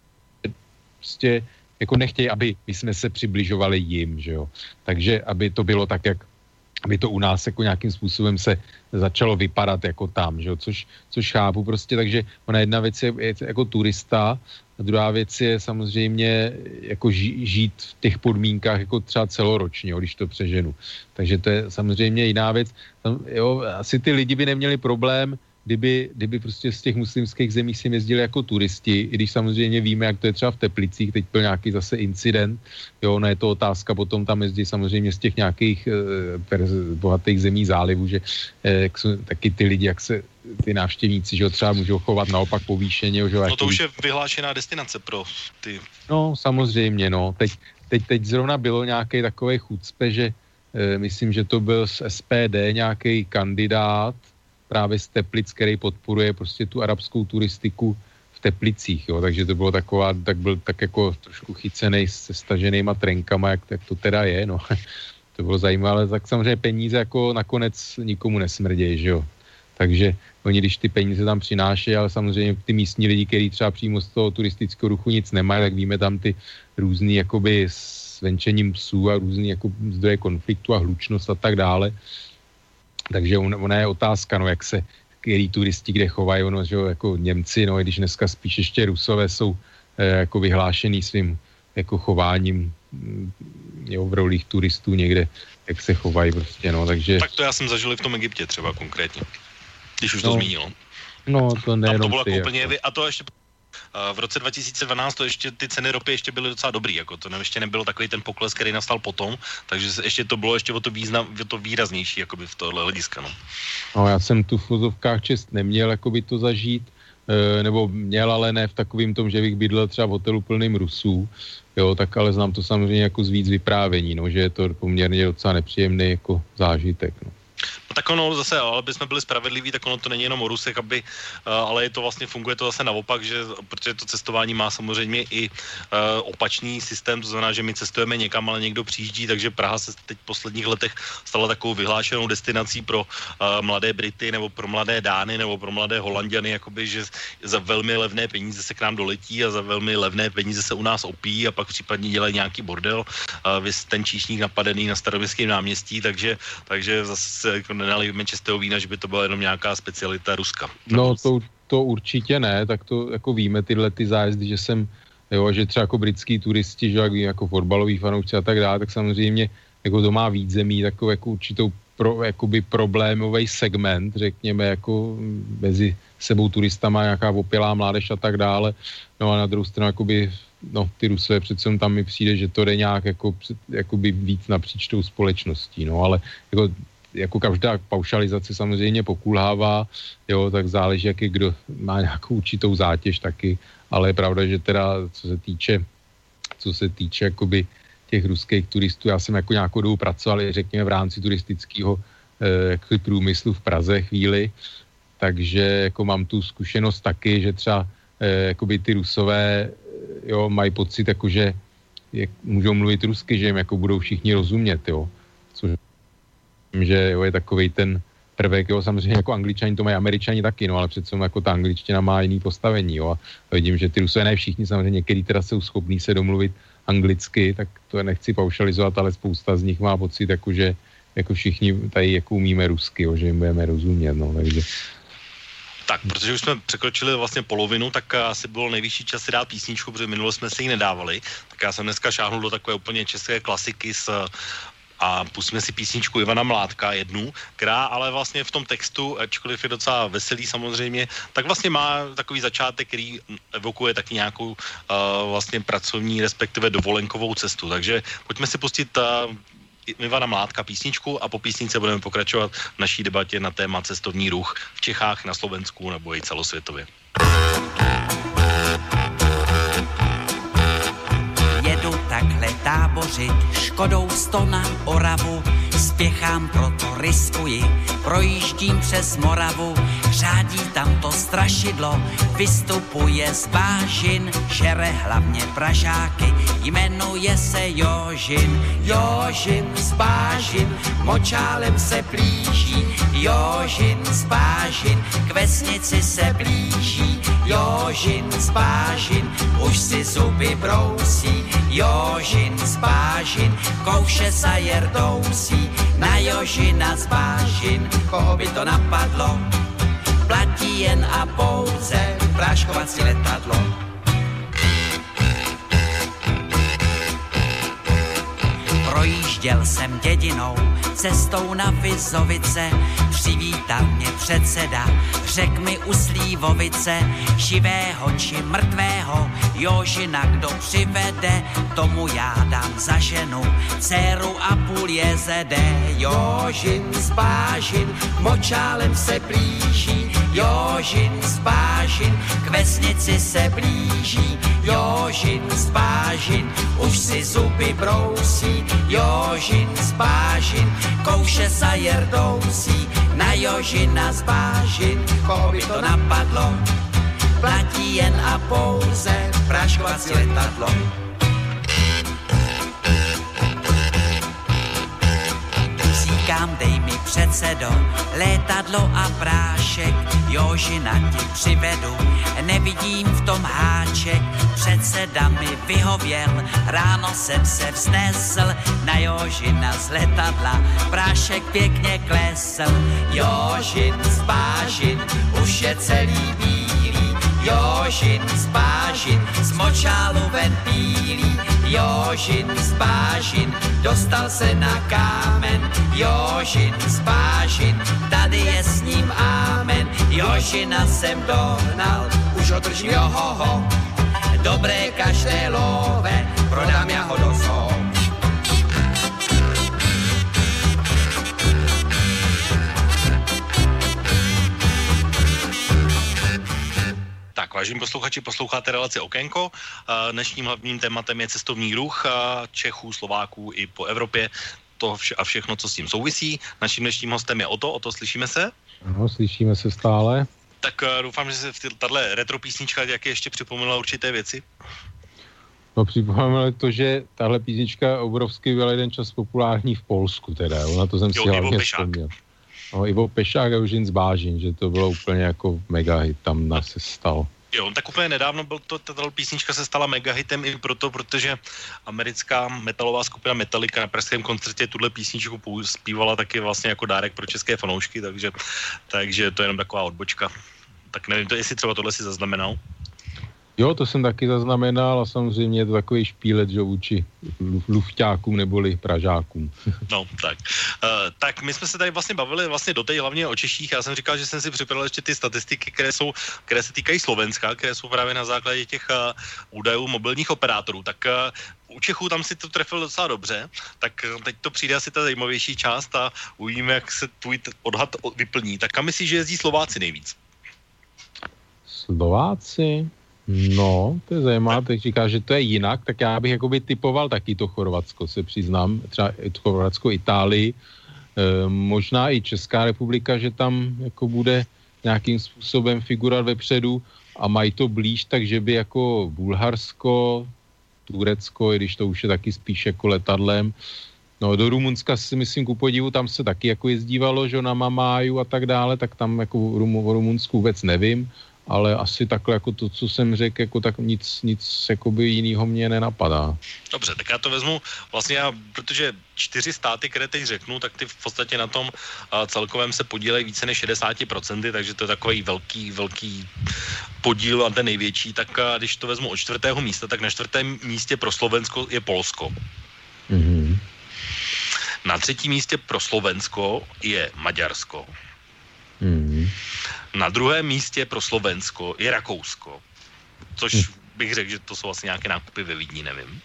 prostě jako nechtějí, aby my jsme se přibližovali jim, že jo. Takže aby to bylo tak, jak aby to u nás jako nějakým způsobem se začalo vypadat jako tam, že jo, což, což chápu prostě, takže ona jedna věc je, je jako turista a druhá věc je samozřejmě jako ži, žít v těch podmínkách jako třeba celoročně, jo, když to přeženu. Takže to je samozřejmě jiná věc. Tam, jo, asi ty lidi by neměli problém, kdyby, kdyby prostě z těch muslimských zemí si jezdili jako turisti, i když samozřejmě víme, jak to je třeba v Teplicích, teď byl nějaký zase incident, jo, no je to otázka, potom tam jezdí samozřejmě z těch nějakých eh, bohatých zemí zálivu, že eh, jak jsou taky ty lidi, jak se ty návštěvníci, že ho třeba můžou chovat naopak povýšeně. Že, no to už je vyhlášená destinace pro ty. No samozřejmě, no, teď, teď, teď zrovna bylo nějaký takový chucpe, že eh, myslím, že to byl z S P D nějaký kandidát, právě z Teplic, který podporuje prostě tu arabskou turistiku v Teplicích, jo, takže to bylo taková, tak byl tak jako trošku chycenej se staženýma trenkama, jak, jak to teda je, no. To bylo zajímavé, ale tak samozřejmě peníze jako nakonec nikomu nesmrdějí, že jo. Takže oni, když ty peníze tam přinášejí, ale samozřejmě ty místní lidi, kteří třeba přímo z toho turistického ruchu nic nemají, tak víme tam ty různý jakoby s venčením psů a různý jako zdroje konfliktu a hlučnost a tak dále. Takže ona je otázka, no, jak se, který turisti kde chovají, ono, že jo, jako Němci, no, i když dneska spíš ještě Rusové jsou eh, jako vyhlášený svým jako chováním jo, v rolích turistů někde, jak se chovají prostě, no, takže... Tak to já jsem zažil i v tom Egyptě třeba konkrétně, když už no, to zmínil. No, to nejenom Tam to bylo ty, jako úplně, jako. A to ještě... V roce dva tisíce dvanáct to ještě ty ceny ropy ještě byly docela dobrý, jako to ještě nebyl takový ten pokles, který nastal potom, takže ještě to bylo ještě o to, význam, o to výraznější, jakoby v tohle hlediska, no. No, já jsem tu v fozovkách čest neměl, jakoby to zažít, e, nebo měl, ale ne v takovým tom, že bych bydlel třeba v hotelu plným Rusů, jo, tak ale znám to samozřejmě jako z víc vyprávění, no, že je to poměrně docela nepříjemný jako zážitek, no. No tak ono zase, ale aby jsme byli spravedliví, tak ono to není jenom o Rusech, aby, uh, ale je to vlastně, funguje to zase naopak, že, protože to cestování má samozřejmě i uh, opačný systém, to znamená, že my cestujeme někam, ale někdo přijíždí, takže Praha se teď v posledních letech stala takovou vyhlášenou destinací pro uh, mladé Brity, nebo pro mladé Dány, nebo pro mladé Holanďany, jakoby, že za velmi levné peníze se k nám doletí a za velmi levné peníze se u nás opíjí a pak případně dělají nějaký bordel, uh, vys ten číšník napadený na Staroměstském náměstí, takže, takže zase jako nenalijeme čistého vína, že by to byla jenom nějaká specialita Ruska. No to, to určitě ne, tak to jako víme tyhle ty zájezdy, že jsem, jo, že třeba jako britský turisti, že jak vím, jako fotbalový fanoušci a tak dále, tak samozřejmě jako to má víc zemí, takovou jako určitou pro, jakoby problémový segment, řekněme, jako mezi sebou turistama, nějaká opělá mládež a tak dále, no a na druhou stranu jakoby, no ty Rusové přece tam mi přijde, že to jde nějak jako, jakoby víc napříč tou společností, no ale jako jako každá paušalizace samozřejmě pokulhává, jo, tak záleží, jaký kdo má nějakou určitou zátěž taky, ale je pravda, že teda, co se týče, co se týče jakoby těch ruských turistů, já jsem jako nějakou dobu pracoval, řekněme, v rámci turistického eh, průmyslu v Praze chvíli, takže jako mám tu zkušenost taky, že třeba eh, jakoby ty Rusové, jo, mají pocit, jako, že jak, můžou mluvit rusky, že jim jako budou všichni rozumět, jo, což že jo, je takovej ten prvek, jo, samozřejmě jako Angličani to mají, Američani taky, no, ale přece jako ta angličtina má jiný postavení, jo, a vidím, že ty Rusové, ne všichni, samozřejmě některý teda jsou schopní se domluvit anglicky, tak to nechci paušalizovat, ale spousta z nich má pocit, jako, že jako všichni tady jako umíme rusky, jo, že jim budeme rozumět, no, takže... Tak, protože už jsme překročili vlastně polovinu, tak asi bylo nejvyšší čas si dát písničku, protože minule jsme si ji nedávali, tak já jsem dneska šáhnul do takové úplně české klasiky s a pustíme si písničku Ivana Mládka jednu, která ale vlastně v tom textu, ačkoliv je docela veselý samozřejmě, tak vlastně má takový začátek, který evokuje taky nějakou uh, vlastně pracovní, respektive dovolenkovou cestu. Takže pojďme si pustit uh, Ivana Mládka písničku a po písničce budeme pokračovat v naší debatě na téma cestovní ruch v Čechách, na Slovensku nebo i celosvětově. Jedu takhle tábořit Škodou sto na Oravu, spěchám, proto riskuji, projíždím přes Moravu, řádí tam to strašidlo, vystupuje z bážin, žere hlavně Pražáky, jmenuje se Jožin. Jožin z bážin, močálem se blíží, Jožin z bážin, k vesnici se blíží, Jožin z bážin, už si zuby brousí, Jožin z bážin, kouše sa jerdousí, na Jožina z bážin, koho by to napadlo, platí jen a pouze práškovací letadlo. Projížděl jsem dědinou, cestou na Vizovice, přivítal mě předseda, řek mi u Slívovice, živého či mrtvého, Jožina kdo přivede, tomu já dám za ženu, dceru a půl jezede. Jožin z bážin, močálem se blíží, Jožin z bážin, k vesnici se blíží, Jožin z bážin, už si zuby brousí, Jožin z bážin, kouše sa jerdousí, na Jožina z bážin, koho by to napadlo, platí jen a pouze práškovací letadlo. Říkám, dej mi předsedo, létadlo a prášek, Jožina ti přivedu, nevidím v tom háček, předseda mi vyhověl, ráno jsem se vznesl, na Jožina z letadla, prášek pěkně klesl, Jožin z bážin, už je celý bílý, Jožin z Bážin, z močálu ven pílí. Jožin z Bážin, dostal se na kámen. Jožin z Bážin, tady je s ním ámen. Jožina jsem dohnal, už ho držím, johoho. Dobré kaštelové, prodám já ho do zoo. Tak, vážení posluchači, posloucháte relaci Okénko. Dnešním hlavním tématem je cestovní ruch Čechů, Slováků i po Evropě. To vše a všechno, co s tím souvisí. Naším dnešním hostem je Oto. Oto, slyšíme se? Ano, slyšíme se stále. Tak doufám, že se v tato retro písnička jak ještě připomněla určité věci. No připomněla to, že tahle písnička obrovsky byla jeden čas populární v Polsku teda. Na to jsem jo, si hlavně vzpomněl. No, Ivo Pešák a Jožin z Bážin, že to bylo úplně jako mega hit, tam nás se stal. Jo, tak úplně nedávno byl to, tato písnička se stala mega hitem i proto, protože americká metalová skupina Metallica na pražském koncertě tuhle písničku zpívala taky vlastně jako dárek pro české fanoušky, takže, takže to je jenom taková odbočka. Tak nevím, to jestli třeba tohle si zaznamenal. Jo, to jsem taky zaznamenal a samozřejmě je to takový špílet, že vůči lufťákům neboli Pražákům. No, tak. Uh, tak my jsme se tady vlastně bavili vlastně doteď hlavně o Češích. Já jsem říkal, že jsem si připravil ještě ty statistiky, které jsou, které se týkají Slovenska, které jsou právě na základě těch uh, údajů mobilních operátorů. Tak uh, u Čechů tam si to trefil docela dobře, tak teď to přijde asi ta zajímavější část a uvidíme, jak se tvůj odhad vyplní. Tak kam myslíš, že jezdí Slováci nejvíc? Slováci? No, to je zajímavé, tak říká, že to je jinak, tak já bych jakoby typoval taky to Chorvatsko, se přiznám, třeba Chorvatsko, Itálii, e, možná i Česká republika, že tam jako bude nějakým způsobem figurovat vepředu a mají to blíž, takže by jako Bulharsko, Turecko, i když to už je taky spíš jako letadlem. No, do Rumunska si myslím, ku podivu, tam se taky jako jezdívalo, že na Mamáju a tak dále, tak tam jako o Rumunsku vůbec nevím, ale asi takhle jako to, co jsem řekl, jako tak nic, nic jakoby jinýho mě nenapadá. Dobře, tak já to vezmu vlastně, já, protože čtyři státy, které teď řeknu, tak ty v podstatě na tom a, celkovém se podílejí více než šedesát procent, takže to je takový velký, velký podíl a ten největší, tak a, když to vezmu od čtvrtého místa, tak na čtvrtém místě pro Slovensko je Polsko. Mm-hmm. Na třetím místě pro Slovensko je Maďarsko. Mm-hmm. Na druhém místě pro Slovensko je Rakousko, což bych řekl, že to jsou asi nějaké nákupy ve Vídni, nevím.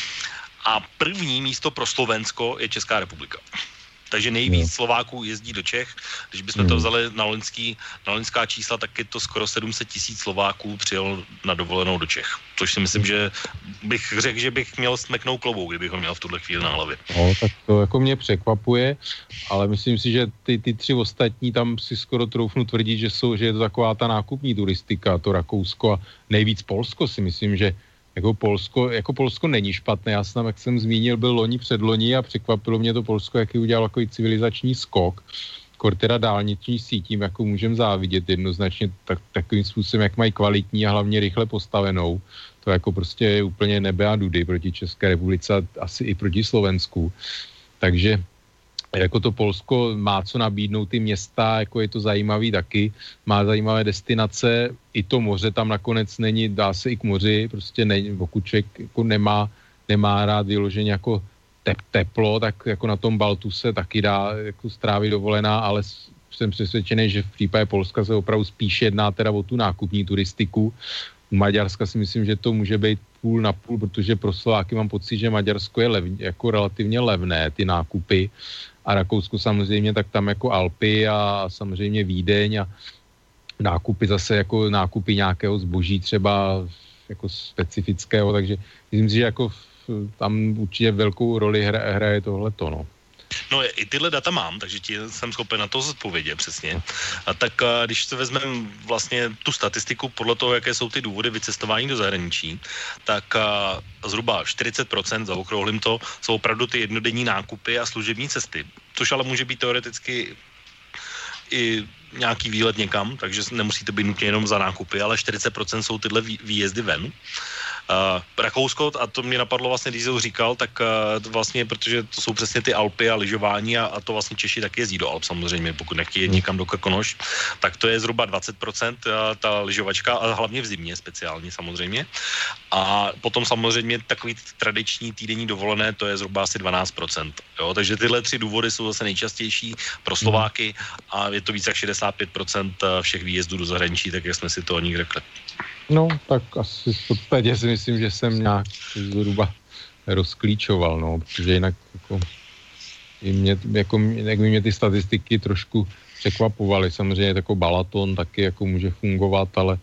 A první místo pro Slovensko je Česká republika. Takže nejvíc Slováků jezdí do Čech. Když bychom to vzali na loňský, na loňská čísla, tak je to skoro sedm set tisíc Slováků přijel na dovolenou do Čech. Což si myslím, že bych řekl, že bych měl smeknout klobouk, kdybych ho měl v tuhle chvíli na hlavě. No, tak to jako mě překvapuje, ale myslím si, že ty, ty tři ostatní tam si skoro troufnu tvrdit, že, jsou, že je to taková ta nákupní turistika, to Rakousko a nejvíc Polsko si myslím, že Jako Polsko, jako Polsko není špatné, já jsem, jak jsem zmínil, byl loni předloni a překvapilo mě to Polsko, jaký udělal takový civilizační skok, kor teda dálniční sítím, jako můžem závidět jednoznačně tak, takovým způsobem, jak mají kvalitní a hlavně rychle postavenou. To jako prostě je úplně nebe a dudy proti České republice a asi i proti Slovensku. Takže jako to Polsko má co nabídnout, ty města, jako je to zajímavý taky, má zajímavé destinace, i to moře tam nakonec není, dá se i k moři, prostě není, pokud člověk jako nemá, nemá rád vyloženě jako tep, teplo, tak jako na tom Baltu se taky dá jako strávit dovolená, ale jsem přesvědčený, že v případě Polska se opravdu spíš jedná teda o tu nákupní turistiku. U Maďarska si myslím, že to může být půl na půl, protože pro Slováky mám pocit, že Maďarsko je lev, jako relativně levné, ty nákupy. A Rakousko samozřejmě, tak tam jako Alpy a samozřejmě Vídeň a nákupy zase jako nákupy nějakého zboží třeba jako specifického, takže myslím si, že jako tam určitě velkou roli hra, hraje tohleto, no. No i tyhle data mám, takže ti jsem schopen na to zodpovědět přesně. A tak a když se vezmeme vlastně tu statistiku podle toho, jaké jsou ty důvody vycestování do zahraničí, tak a zhruba čtyřicet procent, zaokrouhlím to, jsou opravdu ty jednodenní nákupy a služební cesty, což ale může být teoreticky i nějaký výlet někam, takže nemusí to být nutně jenom za nákupy, ale čtyřicet procent jsou tyhle výjezdy ven. Uh, Rakousko, a to mě napadlo vlastně, když jsi říkal, tak uh, vlastně, protože to jsou přesně ty Alpy a lyžování a, a to vlastně Češi taky jezdí do Alp samozřejmě, pokud nechtějí někam do Krkonoš, tak to je zhruba dvacet procent uh, ta lyžovačka a hlavně v zimě speciálně samozřejmě. A potom samozřejmě takový tradiční týdenní dovolené, to je zhruba asi dvanáct procent. Jo? Takže tyhle tři důvody jsou zase nejčastější pro Slováky a je to více jak šedesát pět procent všech výjezdů do zahraničí, tak jak jsme si to o nich řekli. No, tak asi v podstatě si myslím, že jsem nějak zhruba rozklíčoval, no, protože jinak jako, mě, jako, jak by mě ty statistiky trošku překvapovaly. Samozřejmě takový Balaton taky jako může fungovat, ale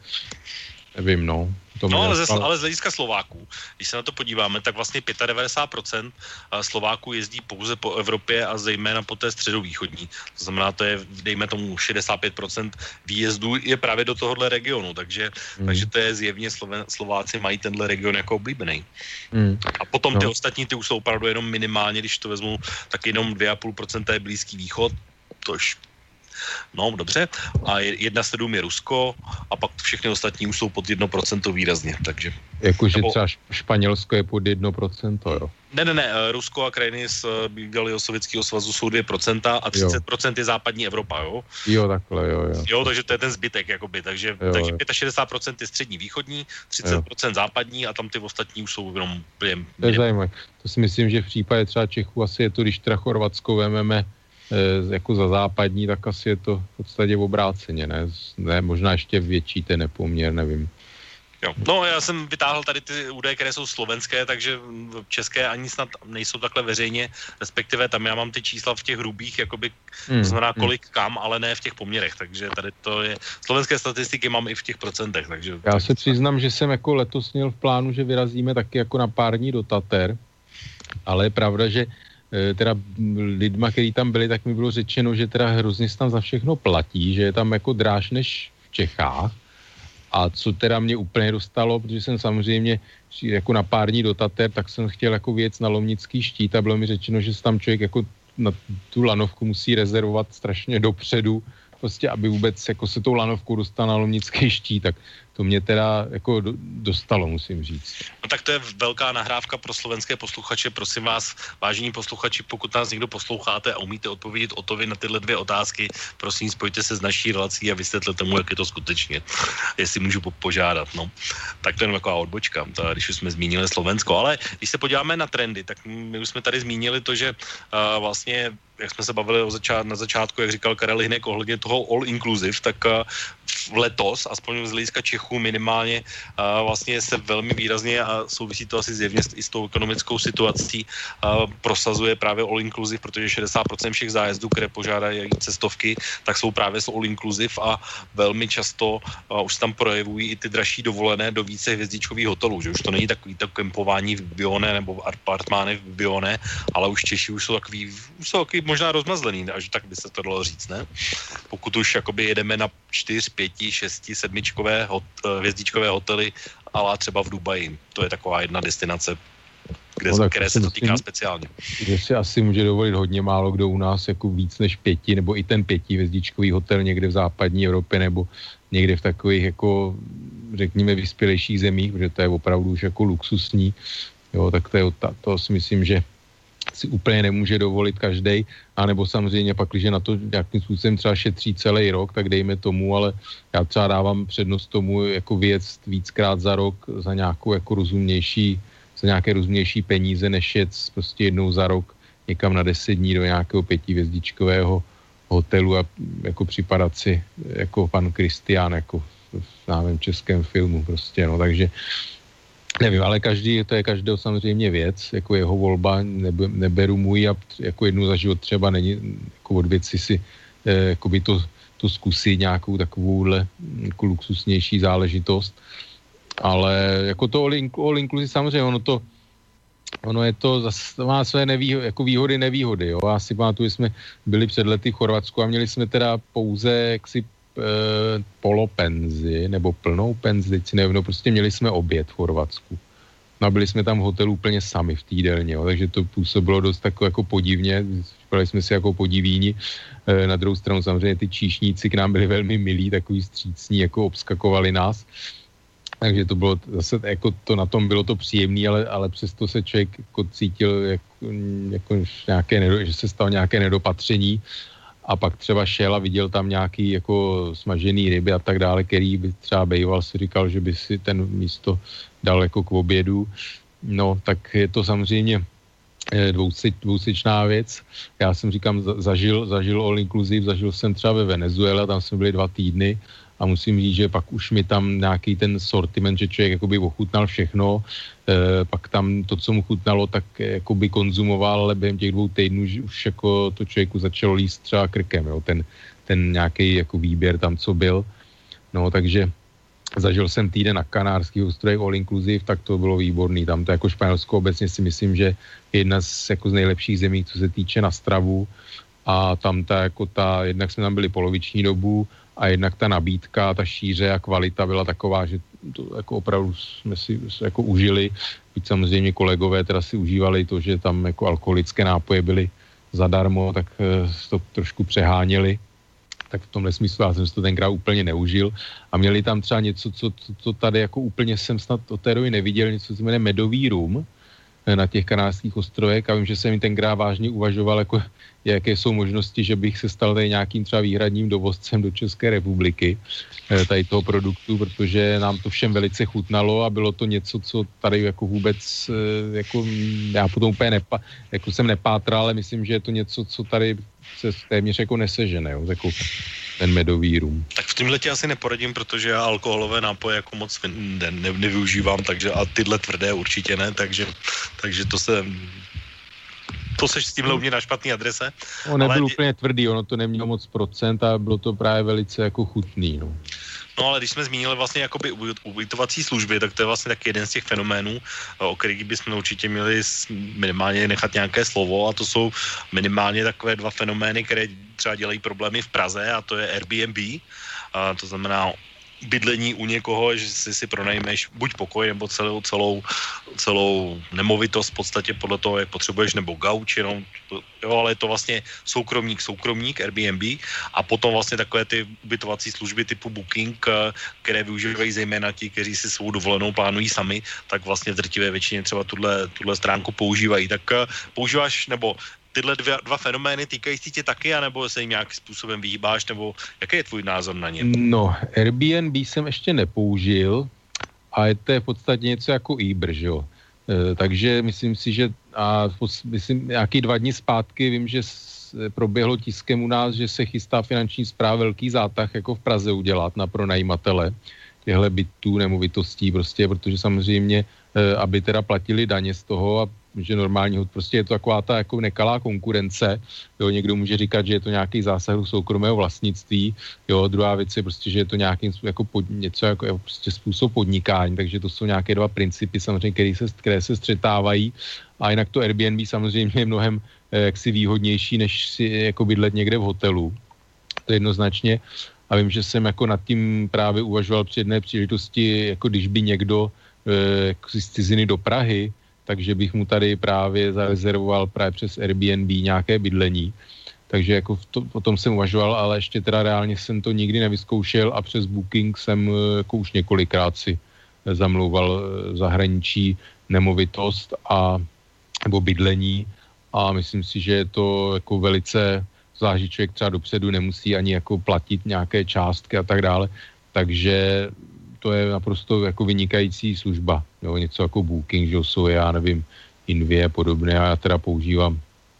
nevím, no. To no, ale, ze, ale z hlediska Slováků, když se na to podíváme, tak vlastně devadesát pět procent Slováků jezdí pouze po Evropě a zejména po té středovýchodní. To znamená, to je, dejme tomu, šedesát pět procent výjezdů je právě do tohohle regionu, takže, mm. takže to je zjevně Sloven, Slováci mají tenhle region jako oblíbený. Mm. A potom no. ty ostatní, ty už jsou opravdu jenom minimálně, když to vezmu, tak jenom dvě celá pět procenta je Blízký východ, tož no, dobře. A jedna celá sedm je Rusko a pak všechny ostatní už jsou pod jedno procento výrazně, takže... Jakože nebo... třeba Španělsko je pod jedno procento, jo? Ne, ne, ne, Rusko a krajiny z bývalého Sovětského svazu jsou dvě procenta a třicet procent je západní Evropa, jo? Jo, takhle, jo, jo. Jo, takže to je ten zbytek, jakoby, takže, jo, takže šedesát pět procent je střední východní, třicet procent jo. západní a tam ty ostatní už jsou jenom... Jen, to je zajímavé. To si myslím, že v případě třeba Čechů asi je to, když teda Chorvatsko vememe jako za západní, tak asi je to v podstatě obráceně, ne? ne možná ještě větší ten nepoměr, nevím. Jo. No, já jsem vytáhl tady ty údaje, které jsou slovenské, takže české ani snad nejsou takhle veřejně, respektive tam já mám ty čísla v těch hrubých, jakoby, hmm. to znamená kolik kam, ale ne v těch poměrech, takže tady to je, slovenské statistiky mám i v těch procentech, takže... Já se přiznám, že jsem jako letos měl v plánu, že vyrazíme taky jako na pár dní do Tater, ale je pravda, že teda lidma, kteří tam byli, tak mi bylo řečeno, že teda hrozně se tam za všechno platí, že je tam jako dráž než v Čechách. A co teda mě úplně dostalo, protože jsem samozřejmě jako na pár dní do Tater, tak jsem chtěl jako věc na Lomnický štít a bylo mi řečeno, že se tam člověk jako na tu lanovku musí rezervovat strašně dopředu, prostě aby vůbec jako se tou lanovkou dostal na Lomnický štít, tak to mě teda jako dostalo, musím říct. No tak to je velká nahrávka pro slovenské posluchače. Prosím vás, vážení posluchači, pokud nás někdo posloucháte a umíte odpovědět Otovi na tyhle dvě otázky, prosím, spojte se s naší relací a vysvětlete mu, jak je to skutečně. Jestli můžu po- požádat, no. Tak to je taková odbočka, to, když už jsme zmínili Slovensko. Ale když se podíváme na trendy, tak my už jsme tady zmínili to, že uh, vlastně jak jsme se bavili o začát, na začátku, jak říkal Karel Hynek ohledně toho all inclusive, tak uh, letos, aspoň z hlediska Čechů minimálně, uh, vlastně se velmi výrazně a souvisí to asi zjevně i s tou ekonomickou situací, uh, prosazuje právě all inclusive, protože šedesát procent všech zájezdů, které požádají cestovky, tak jsou právě s all inclusive a velmi často uh, už tam projevují i ty dražší dovolené do více hvězdičkových hotelů, že už to není takový tak kempování v Bione nebo apartmány v Bione, ale už Češi už jsou takový, už jsou takový možná rozmazlený, až tak by se to dalo říct, ne? Pokud už jakoby jedeme na čtyř, pěti, šesti, sedmičkové hot, hvězdičkové hotely, ale třeba v Dubaji. To je taková jedna destinace, kde, no, které se to týká speciálně. Že si asi může dovolit hodně málo kdo u nás jako víc než pěti, nebo i ten pětihvězdičkový hotel někde v západní Evropě, nebo někde v takových jako, řekněme, vyspělejších zemích, protože to je opravdu už jako luxusní. Jo, tak to, je, to si myslím, že si úplně nemůže dovolit každej, anebo samozřejmě pak, když na to nějakým způsobem třeba šetří celý rok, tak dejme tomu, ale já třeba dávám přednost tomu jako věc víckrát za rok za nějakou jako rozumnější, za nějaké rozumnější peníze, než jet prostě jednou za rok někam na deset dní do nějakého pětihvězdičkového hotelu a jako připadat si jako pan Kristián, jako v návém českém filmu prostě, no, takže nevím, ale každý, to je každého samozřejmě věc, jako jeho volba, nebe, neberu můj a jako jednu za život třeba není, jako od věci si eh, jako by to, to zkusit nějakou takovouhle jako luxusnější záležitost, ale jako to all, inclu, all inclusive samozřejmě, ono to, ono je to, zase má své nevýhody, jako výhody, nevýhody, jo, já si pamatuju, jsme byli před lety v Chorvatsku a měli jsme teda pouze jaksi E, polopenzi, nebo plnou penzi, teď si nevím, no prostě měli jsme oběd v Chorvatsku. No a byli jsme tam v hotelu úplně sami v týdelně, jo, takže to působilo dost tako jako podivně, připadali jsme si jako podivíni. E, na druhou stranu samozřejmě ty číšníci k nám byli velmi milí, takový střícní, jako obskakovali nás. Takže to bylo zase, jako to na tom bylo to příjemné, ale, ale přesto se člověk jako cítil, jako, jako nějaké, že se stalo nějaké nedopatření a pak třeba šel a viděl tam nějaký jako smažený ryby a tak dále, který by třeba bejval, si říkal, že by si ten místo dal jako k obědu. No, tak je to samozřejmě dvousečná věc. Já jsem říkám, zažil, zažil all inclusive, zažil jsem třeba ve Venezuele, tam jsme byli dva týdny a musím říct, že pak už mi tam nějaký ten sortiment, že člověk jakoby ochutnal všechno, e, pak tam to, co mu chutnalo, tak jakoby konzumoval, ale během těch dvou týdnů už jako to člověku začalo líst třeba krkem, jo, ten, ten nějaký jako výběr tam, co byl. No, takže zažil jsem týden na Kanárských ostrovech all inclusive, tak to bylo výborný. Tam to jako Španělsko obecně si myslím, že je jedna z, jako z nejlepších zemí, co se týče na stravu. A tam ta, jako ta, jednak jsme tam byli poloviční dobu a jednak ta nabídka, ta šíře a kvalita byla taková, že to jako opravdu jsme si jako užili. Byť samozřejmě kolegové teda si užívali to, že tam jako alkoholické nápoje byly zadarmo, tak to trošku přeháněli. Tak v tomhle smyslu já jsem si to tenkrát úplně neužil. A měli tam třeba něco, co, co, co tady jako úplně jsem snad od té doby neviděl, něco, co se jmenuje medový rum na těch Kanárských ostrovech. A vím, že jsem jim tenkrát vážně uvažoval, jako, jaké jsou možnosti, že bych se stal tady nějakým třeba výhradním dovozcem do České republiky tady toho produktu, protože nám to všem velice chutnalo a bylo to něco, co tady jako vůbec, jako já potom úplně nepa, jako jsem nepátral, ale myslím, že je to něco, co tady se téměř jako nesežene, jo, jako ten medový rum. Tak v tomhle tě asi neporadím, protože já alkoholové nápoje jako moc ne, ne, nevyužívám, takže a tyhle tvrdé určitě ne, takže, takže to se... To seš s tímhle u mě na špatný adrese. On nebyl ale... úplně tvrdý, ono to nemělo moc procent a bylo to právě velice jako chutný, no. No ale když jsme zmínili vlastně jakoby ubytovací služby, tak to je vlastně taky jeden z těch fenoménů, o kterých bychom určitě měli minimálně nechat nějaké slovo, a to jsou minimálně takové dva fenomény, které třeba dělají problémy v Praze, a to je Airbnb, a to znamená bydlení u někoho, že si si pronajmeš buď pokoj, nebo celou, celou, celou nemovitost v podstatě podle toho, jak potřebuješ, nebo gauč, jenom, jo, ale je to vlastně soukromník, soukromník, Airbnb, a potom vlastně takové ty ubytovací služby typu Booking, které využívají zejména ti, kteří si svou dovolenou plánují sami, tak vlastně v drtivé většině třeba tuhle, tuhle stránku používají. Tak používáš, nebo tyhle dva, dva fenomény týkají si tě taky, anebo se jim nějakým způsobem vyhýbáš, nebo jaký je tvůj názor na ně? No, Airbnb jsem ještě nepoužil a je to v podstatě něco jako Uber, že jo. E, takže myslím si, že a myslím, nějaký dva dny zpátky vím, že proběhlo tiskem u nás, že se chystá finanční správa velký zátah jako v Praze udělat na pronajímatele těchto bytů, nemovitostí prostě, protože samozřejmě, e, aby teda platili daně z toho a že normálního, prostě je to taková ta jako nekalá konkurence, jo, někdo může říkat, že je to nějaký zásah do soukromého vlastnictví, jo, druhá věc je prostě, že je to nějaký jako pod, něco jako prostě způsob podnikání, takže to jsou nějaké dva principy samozřejmě, které se, které se střetávají, a jinak to Airbnb samozřejmě je mnohem eh, jaksi výhodnější, než si jako bydlet někde v hotelu, to je jednoznačně, a vím, že jsem jako nad tím právě uvažoval při jedné příležitosti, jako když by někdo eh, z ciziny do Prahy, takže bych mu tady právě zarezervoval právě přes Airbnb nějaké bydlení. Takže jako to, o tom jsem uvažoval, ale ještě teda reálně jsem to nikdy nevyzkoušel a přes Booking jsem jako už několikrát si zamlouval v zahraničí nemovitost a nebo bydlení, a myslím si, že je to jako velice, zvlášť člověk třeba dopředu nemusí ani jako platit nějaké částky a tak dále, takže to je naprosto jako vynikající služba, jo, něco jako Booking, že jsou, já nevím, Invie a podobné, a já teda používám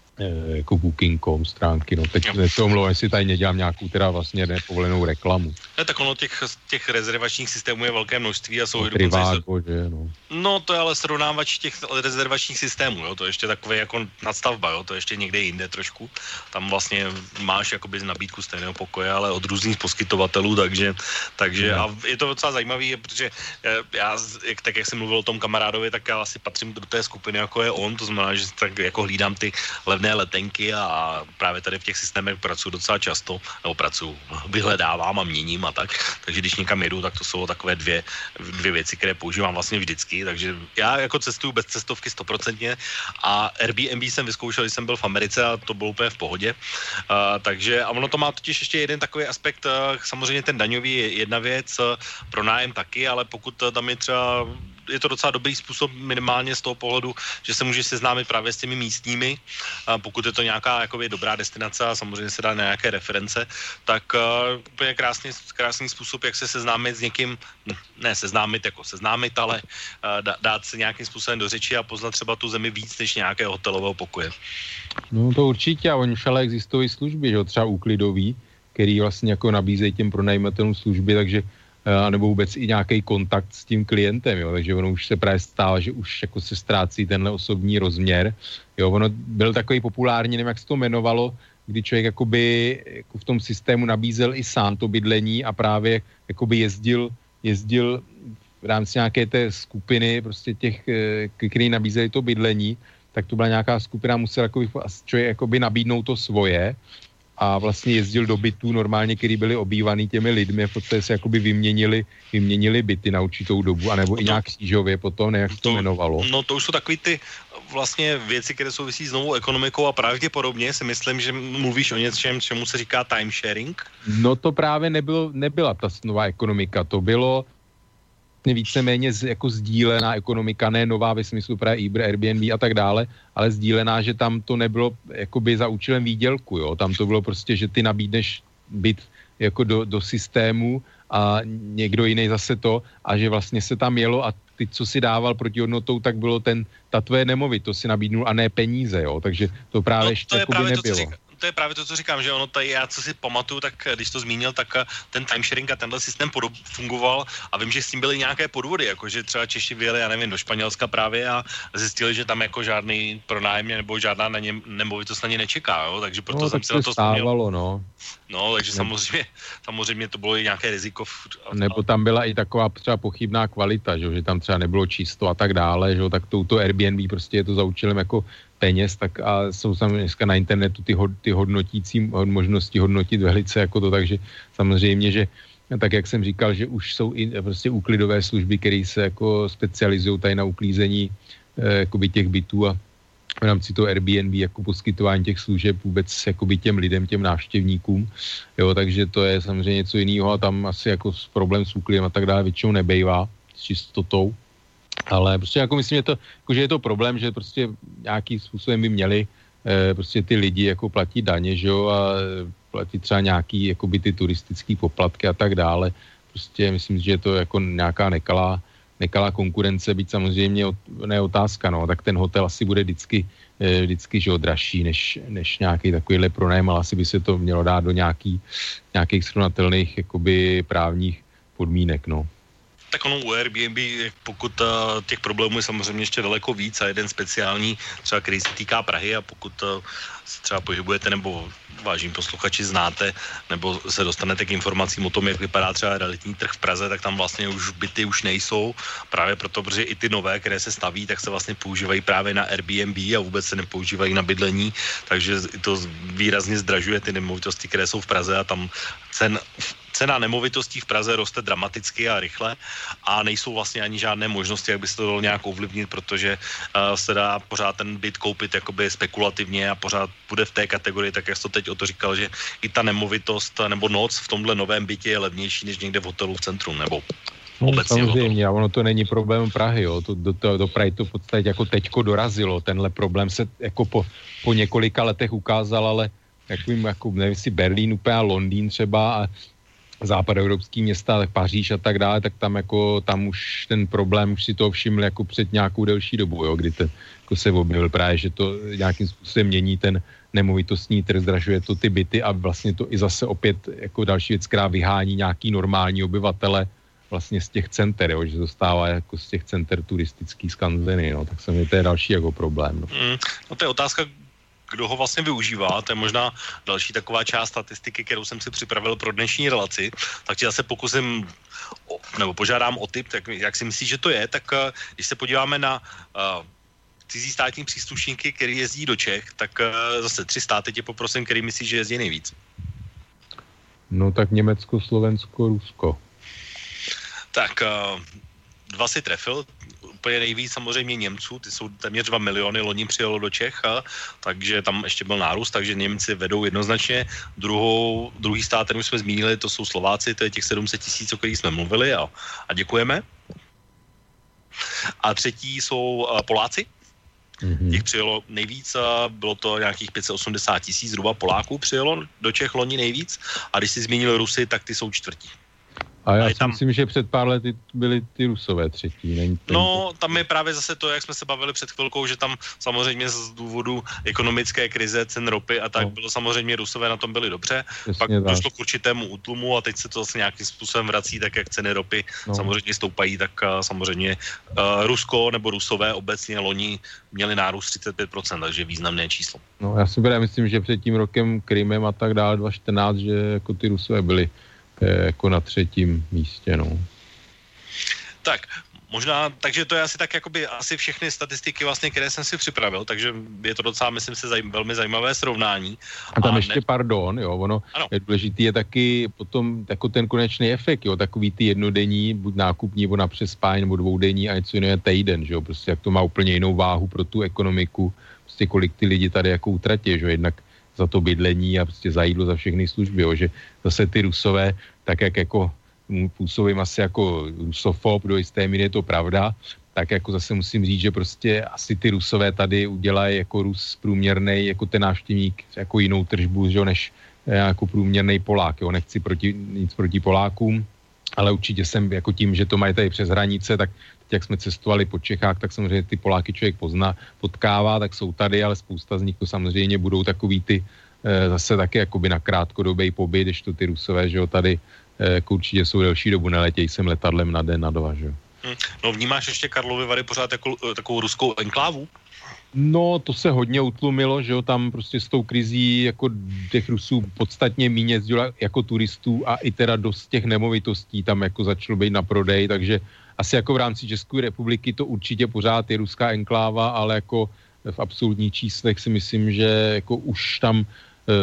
e, jako booking tečka com stránky, no teď se omlouvám, jestli tady nedělám nějakou teda vlastně nepovolenou reklamu. Ne, tak ono těch, těch rezervačních systémů je velké množství a jsou no, Trivago, že, no. No to je ale srovnávač těch rezervačních systémů, jo, to je ještě takové jako nadstavba, jo, to je ještě někde jinde trošku. Tam vlastně máš jakoby nabídku stejného pokoje, ale od různých poskytovatelů, takže, takže no. A je to docela zajímavý, protože já, jak, tak jak jsem mluvil o tom kamarádovi, tak já asi patřím do té skupiny, jako je on, to znamená, že tak jako hlídám ty levné levné letenky a právě tady v těch systémech pracuji docela často, nebo pracuji, vyhledávám a měním a tak, takže když někam jedu, tak to jsou takové dvě, dvě věci, které používám vlastně vždycky, takže já jako cestuju bez cestovky stoprocentně a Airbnb jsem vyzkoušel, když jsem byl v Americe a to bylo úplně v pohodě, uh, takže a ono to má totiž ještě jeden takový aspekt, uh, samozřejmě ten daňový je jedna věc, uh, pro nájem taky, ale pokud uh, tam je třeba je to docela dobrý způsob minimálně z toho pohledu, že se můžeš seznámit právě s těmi místními, a pokud je to nějaká jakoby dobrá destinace a samozřejmě se dá na nějaké reference, tak uh, úplně krásný, krásný způsob, jak se seznámit s někým, ne seznámit jako seznámit, ale uh, dát se nějakým způsobem do řeči a poznat třeba tu zemi víc než nějakého hotelového pokoje. No to určitě, a oni už ale existují služby, že jo, třeba úklidový, který vlastně jako nabízejí těm pronajímatelům služby, takže a nebo vůbec i nějaký kontakt s tím klientem, jo, takže ono už se právě stává, že už jako se ztrácí tenhle osobní rozměr, jo, ono byl takový populární, nevím, jak se to jmenovalo, kdy člověk jakoby jako v tom systému nabízel i sám to bydlení a právě jakoby jezdil, jezdil v rámci nějaké té skupiny, prostě těch, který nabízeli to bydlení, tak to byla nějaká skupina, musel jakoby, člověk jakoby nabídnout to svoje, a vlastně jezdil do bytů normálně, který byly obývaný těmi lidmi, a poté se jakoby vyměnili, vyměnili byty na určitou dobu, anebo to, i nějak křížově potom, ne, jak to, to jmenovalo. No to už jsou takový ty vlastně věci, které souvisí s novou ekonomikou a pravděpodobně si myslím, že mluvíš o něčem, čemu se říká timesharing. No to právě nebylo, nebyla ta nová ekonomika, to bylo víceméně z, jako sdílená ekonomika, ne nová ve smyslu právě Uber, Airbnb a tak dále, ale sdílená, že tam to nebylo jakoby za účelem výdělku, jo, tam to bylo prostě, že ty nabídneš byt jako do, do systému a někdo jiný zase to a že vlastně se tam jelo a ty, co si dával proti hodnotou, tak bylo ten, ta tvoje nemovitost si nabídnul a ne peníze, jo, takže to právě no, ještě jakoby nebylo. To je právě to, co říkám, že ono tady, já co si pamatuju, tak když to zmínil, tak ten timesharing a tenhle systém podob, fungoval a vím, že s tím byly nějaké podvody, jakože třeba Češi vyjeli, já nevím, do Španělska právě a zjistili, že tam jako žádný pronájemně nebo žádná na ně, nemovitost na ně nečeká, jo, takže proto no, jsem tak si na to stávalo, no. No, takže ne. samozřejmě, samozřejmě to bylo i nějaké riziko. V, nebo tam byla i taková třeba pochybná kvalita, že, že tam třeba nebylo čisto a tak dále, že tak touto Airbnb prostě je to za účelem jako peněz, tak a jsou samozřejmě dneska na internetu ty, hod, ty hodnotící možnosti hodnotit velice jako to, takže samozřejmě, že tak jak jsem říkal, že už jsou i prostě úklidové služby, které se jako specializují tady na uklízení eh, jakoby těch bytů a v rámci toho Airbnb jako poskytování těch služeb vůbec jakoby těm lidem, těm návštěvníkům, jo, takže to je samozřejmě něco jiného a tam asi jako problém s úklidem a tak dále většinou nebejvá s čistotou. Ale prostě jako myslím, že, to, jako, že je to problém, že prostě nějakým způsobem by měli e, prostě ty lidi jako platit daně, že jo, a platit třeba nějaký jakoby ty turistický poplatky a tak dále. Prostě myslím, že je to jako nějaká nekalá, nekalá konkurence, byť samozřejmě ne otázka, no, tak ten hotel asi bude vždycky, e, vždycky že jo, dražší než, než nějaký takovýhle pronájem, ale asi by se to mělo dát do nějaký, nějakých srovnatelných jakoby právních podmínek, no. Tak ono u Airbnb, pokud uh, těch problémů je samozřejmě ještě daleko víc a jeden speciální, třeba který se týká Prahy a pokud uh, se třeba pohybujete nebo vážení posluchači znáte nebo se dostanete k informacím o tom, jak vypadá třeba realitní trh v Praze, tak tam vlastně už byty už nejsou, právě proto, protože i ty nové, které se staví, tak se vlastně používají právě na Airbnb a vůbec se nepoužívají na bydlení, takže to výrazně zdražuje ty nemovitosti, které jsou v Praze a tam cen Cena nemovitostí v Praze roste dramaticky a rychle a nejsou vlastně ani žádné možnosti, jak by se to dalo nějak ovlivnit, protože uh, se dá pořád ten byt koupit jakoby spekulativně a pořád bude v té kategorii, tak jak jsi to teď o to říkal, že i ta nemovitost nebo noc v tomhle novém bytě je levnější než někde v hotelu v centru nebo no, obecně. Samozřejmě, a ono to není problém Prahy, jo. To, do, to, do Prahy to v podstatě jako teďko dorazilo. Tenhle problém se jako po, po několika letech ukázal, ale takovým, jako nevím, jestli Berlín úplně a Londýn třeba a západoevropský města, tak Paříž a tak dále, tak tam jako, tam už ten problém, už si to všiml jako před nějakou delší dobu, jo, kdy ten, jako se objevil právě, že to nějakým způsobem mění ten nemovitostní trh, zdražuje to ty byty a vlastně to i zase opět jako další věc, která vyhání nějaký normální obyvatele vlastně z těch center, jo, že dostává jako z těch center turistický skanzeny, no, tak se mi to je další jako problém. No, mm, no to je otázka, kdo ho vlastně využívá, to je možná další taková část statistiky, kterou jsem si připravil pro dnešní relaci, tak ti zase pokusím, nebo požádám o tip, tak jak si myslíš, že to je, tak když se podíváme na uh, cizí státní příslušníky, který jezdí do Čech, tak uh, zase tři státy tě poprosím, který myslíš, že jezdí nejvíc. No tak Německo, Slovensko, Rusko. Tak uh, dva si trefil, úplně nejvíc samozřejmě Němců, ty jsou téměř dva miliony, loni přijelo do Čech, a, takže tam ještě byl nárůst, takže Němci vedou jednoznačně. Druhou, druhý stát, který jsme zmínili, to jsou Slováci, to je těch sedm set tisíc, o kterých jsme mluvili, a, a děkujeme. A třetí jsou uh, Poláci. Mm-hmm. Těch přijelo nejvíc, a bylo to nějakých pět set osmdesát tisíc zhruba Poláků přijelo do Čech loni nejvíc, a když si zmínil Rusy, tak ty jsou čtvrtí. A já a si tam... myslím, že před pár lety byly ty Rusové třetí. Není to... No, tam je právě zase to, jak jsme se bavili před chvilkou, že tam samozřejmě z důvodu ekonomické krize, cen ropy a tak no. bylo samozřejmě Rusové na tom byli dobře. Jasně, pak tak. došlo k určitému útlumu a teď se to zase nějakým způsobem vrací, tak jak ceny ropy no. samozřejmě stoupají, tak uh, samozřejmě uh, Rusko nebo Rusové obecně loni měli nárůst třicet pět procent, takže významné číslo. No, já si právě myslím, že před tím rokem Krymem a tak dále dva tisíce čtrnáct, že jako ty Rusové byli jako na třetím místě, no. Tak, možná, takže to je asi tak jakoby asi všechny statistiky vlastně, které jsem si připravil, takže je to docela, myslím si, zaj- velmi zajímavé srovnání. A tam a ještě, ne... pardon, jo, ono ano. je důležitý je taky potom jako ten konečný efekt, jo, takový ty jednodenní, buď nákupní, nebo na přespání, nebo dvoudenní a něco jiného týden, že jo, prostě jak to má úplně jinou váhu pro tu ekonomiku, prostě kolik ty lidi tady jako utratí, že jo, jednak za to bydlení a prostě za jídlo, za všechny služby, jo, že zase ty Rusové, tak jak jako působím asi jako rusofob, do jisté míry je to pravda, tak jako zase musím říct, že prostě asi ty Rusové tady udělají jako Rus průměrnej, jako ten návštěvník, jako jinou tržbu, že jo, než jako průměrnej Polák, jo, nechci proti, nic proti Polákům, ale určitě jsem jako tím, že to mají tady přes hranice, tak teď jak jsme cestovali po Čechách, tak samozřejmě ty Poláky člověk pozná, potkává, tak jsou tady, ale spousta z nich to samozřejmě budou takový ty e, zase taky jakoby na krátkodobý pobyt, když to ty Rusové, že jo, tady e, jako určitě jsou delší dobu, neletějí sem letadlem na den, na dva, že jo. Hmm. No vnímáš ještě Karlovy Vary pořád jako, takovou ruskou enklávu? No, to se hodně utlumilo, že jo, tam prostě s tou krizí jako těch Rusů podstatně míň jezdilo jako turistů a i teda dost těch nemovitostí tam jako začalo být na prodej, takže asi jako v rámci České republiky to určitě pořád je ruská enkláva, ale jako v absolutních číslech si myslím, že jako už tam e,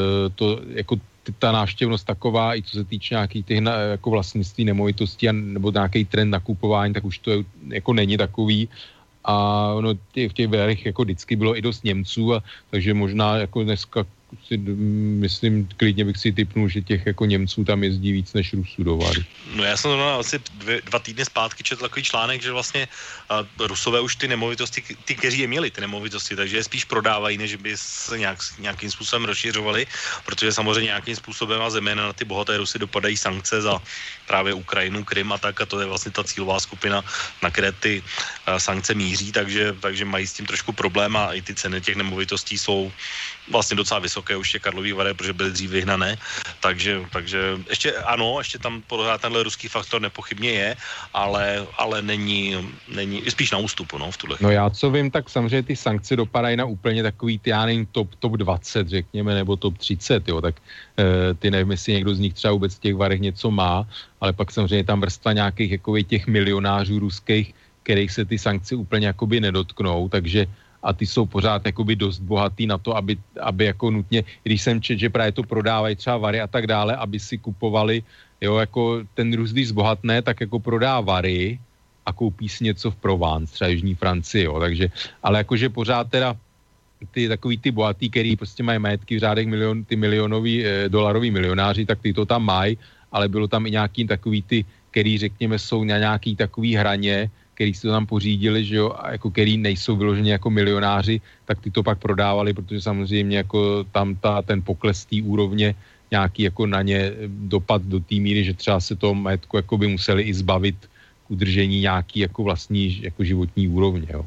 to jako ta návštěvnost taková, i co se týče nějakých těch jako vlastnictví nemovitostí a, nebo nějaký trend nakupování, tak už to je, jako není takový. A no, tě, v těch verech jako vždycky bylo i dost Němců, a, takže možná jako dneska si myslím, klidně bych si tipnul, že těch jako Němců tam jezdí víc než Rusů do Vary. No já jsem to asi dvě, dva týdny zpátky četl takový článek, že vlastně uh, Rusové už ty nemovitosti, ty, kteří je měli ty nemovitosti, takže je spíš prodávají, než by se nějak, nějakým způsobem rozšiřovali, protože samozřejmě nějakým způsobem a zejména na ty bohaté Rusy dopadají sankce za právě Ukrajinu, Krym a tak, a to je vlastně ta cílová skupina, na které ty uh, sankce míří, takže, takže mají s tím trošku problém a i ty ceny těch nemovitostí jsou vlastně docela vysoké už je Karlovy Vary, protože byly dřív vyhnané, takže, takže ještě ano, ještě tam pořád tenhle ruský faktor nepochybně je, ale, ale není, není, spíš na ústupu, no, v tuhle chvíli. No já co vím, tak samozřejmě ty sankce dopadají na úplně takový, ty, já nevím, top, top dvacet, řekněme, nebo top třicet, jo, tak e, ty nevím, jestli někdo z nich třeba vůbec v těch varech něco má, ale pak samozřejmě tam vrstva nějakých jako těch milionářů ruských, kterých se ty sankce úplně jakoby nedotknou, takže a ty jsou pořád jakoby dost bohatý na to, aby, aby jako nutně, když jsem čet, že právě to prodávají třeba Vary a tak dále, aby si kupovali, jo, jako ten Rus, když zbohatne, tak jako prodá Vary a koupí si něco v Provence, třeba Jižní Francii, jo, takže, ale jakože pořád teda ty takový ty bohatý, který prostě mají majetky v řádech milion, ty milionový, eh, dolarový milionáři, tak ty to tam mají, ale bylo tam i nějaký takový ty, který řekněme jsou na nějaký takový hraně, který si to tam pořídili, že jo, a jako který nejsou vyloženě jako milionáři, tak ty to pak prodávali, protože samozřejmě jako tam ta, ten pokles té úrovně nějaký jako na ně dopad do té míry, že třeba se toho majetku jako by museli i zbavit k udržení nějaký jako vlastní jako životní úrovně, jo.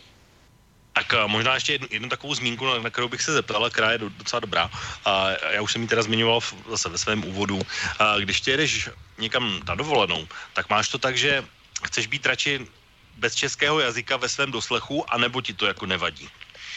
Tak možná ještě jednu, jednu takovou zmínku, na kterou bych se zeptal, která je docela dobrá. A já už jsem ji teda zmiňoval v, zase ve svém úvodu. A když tě jedeš někam na dovolenou, tak máš to tak, že chceš být radši bez českého jazyka ve svém doslechu, anebo ti to jako nevadí?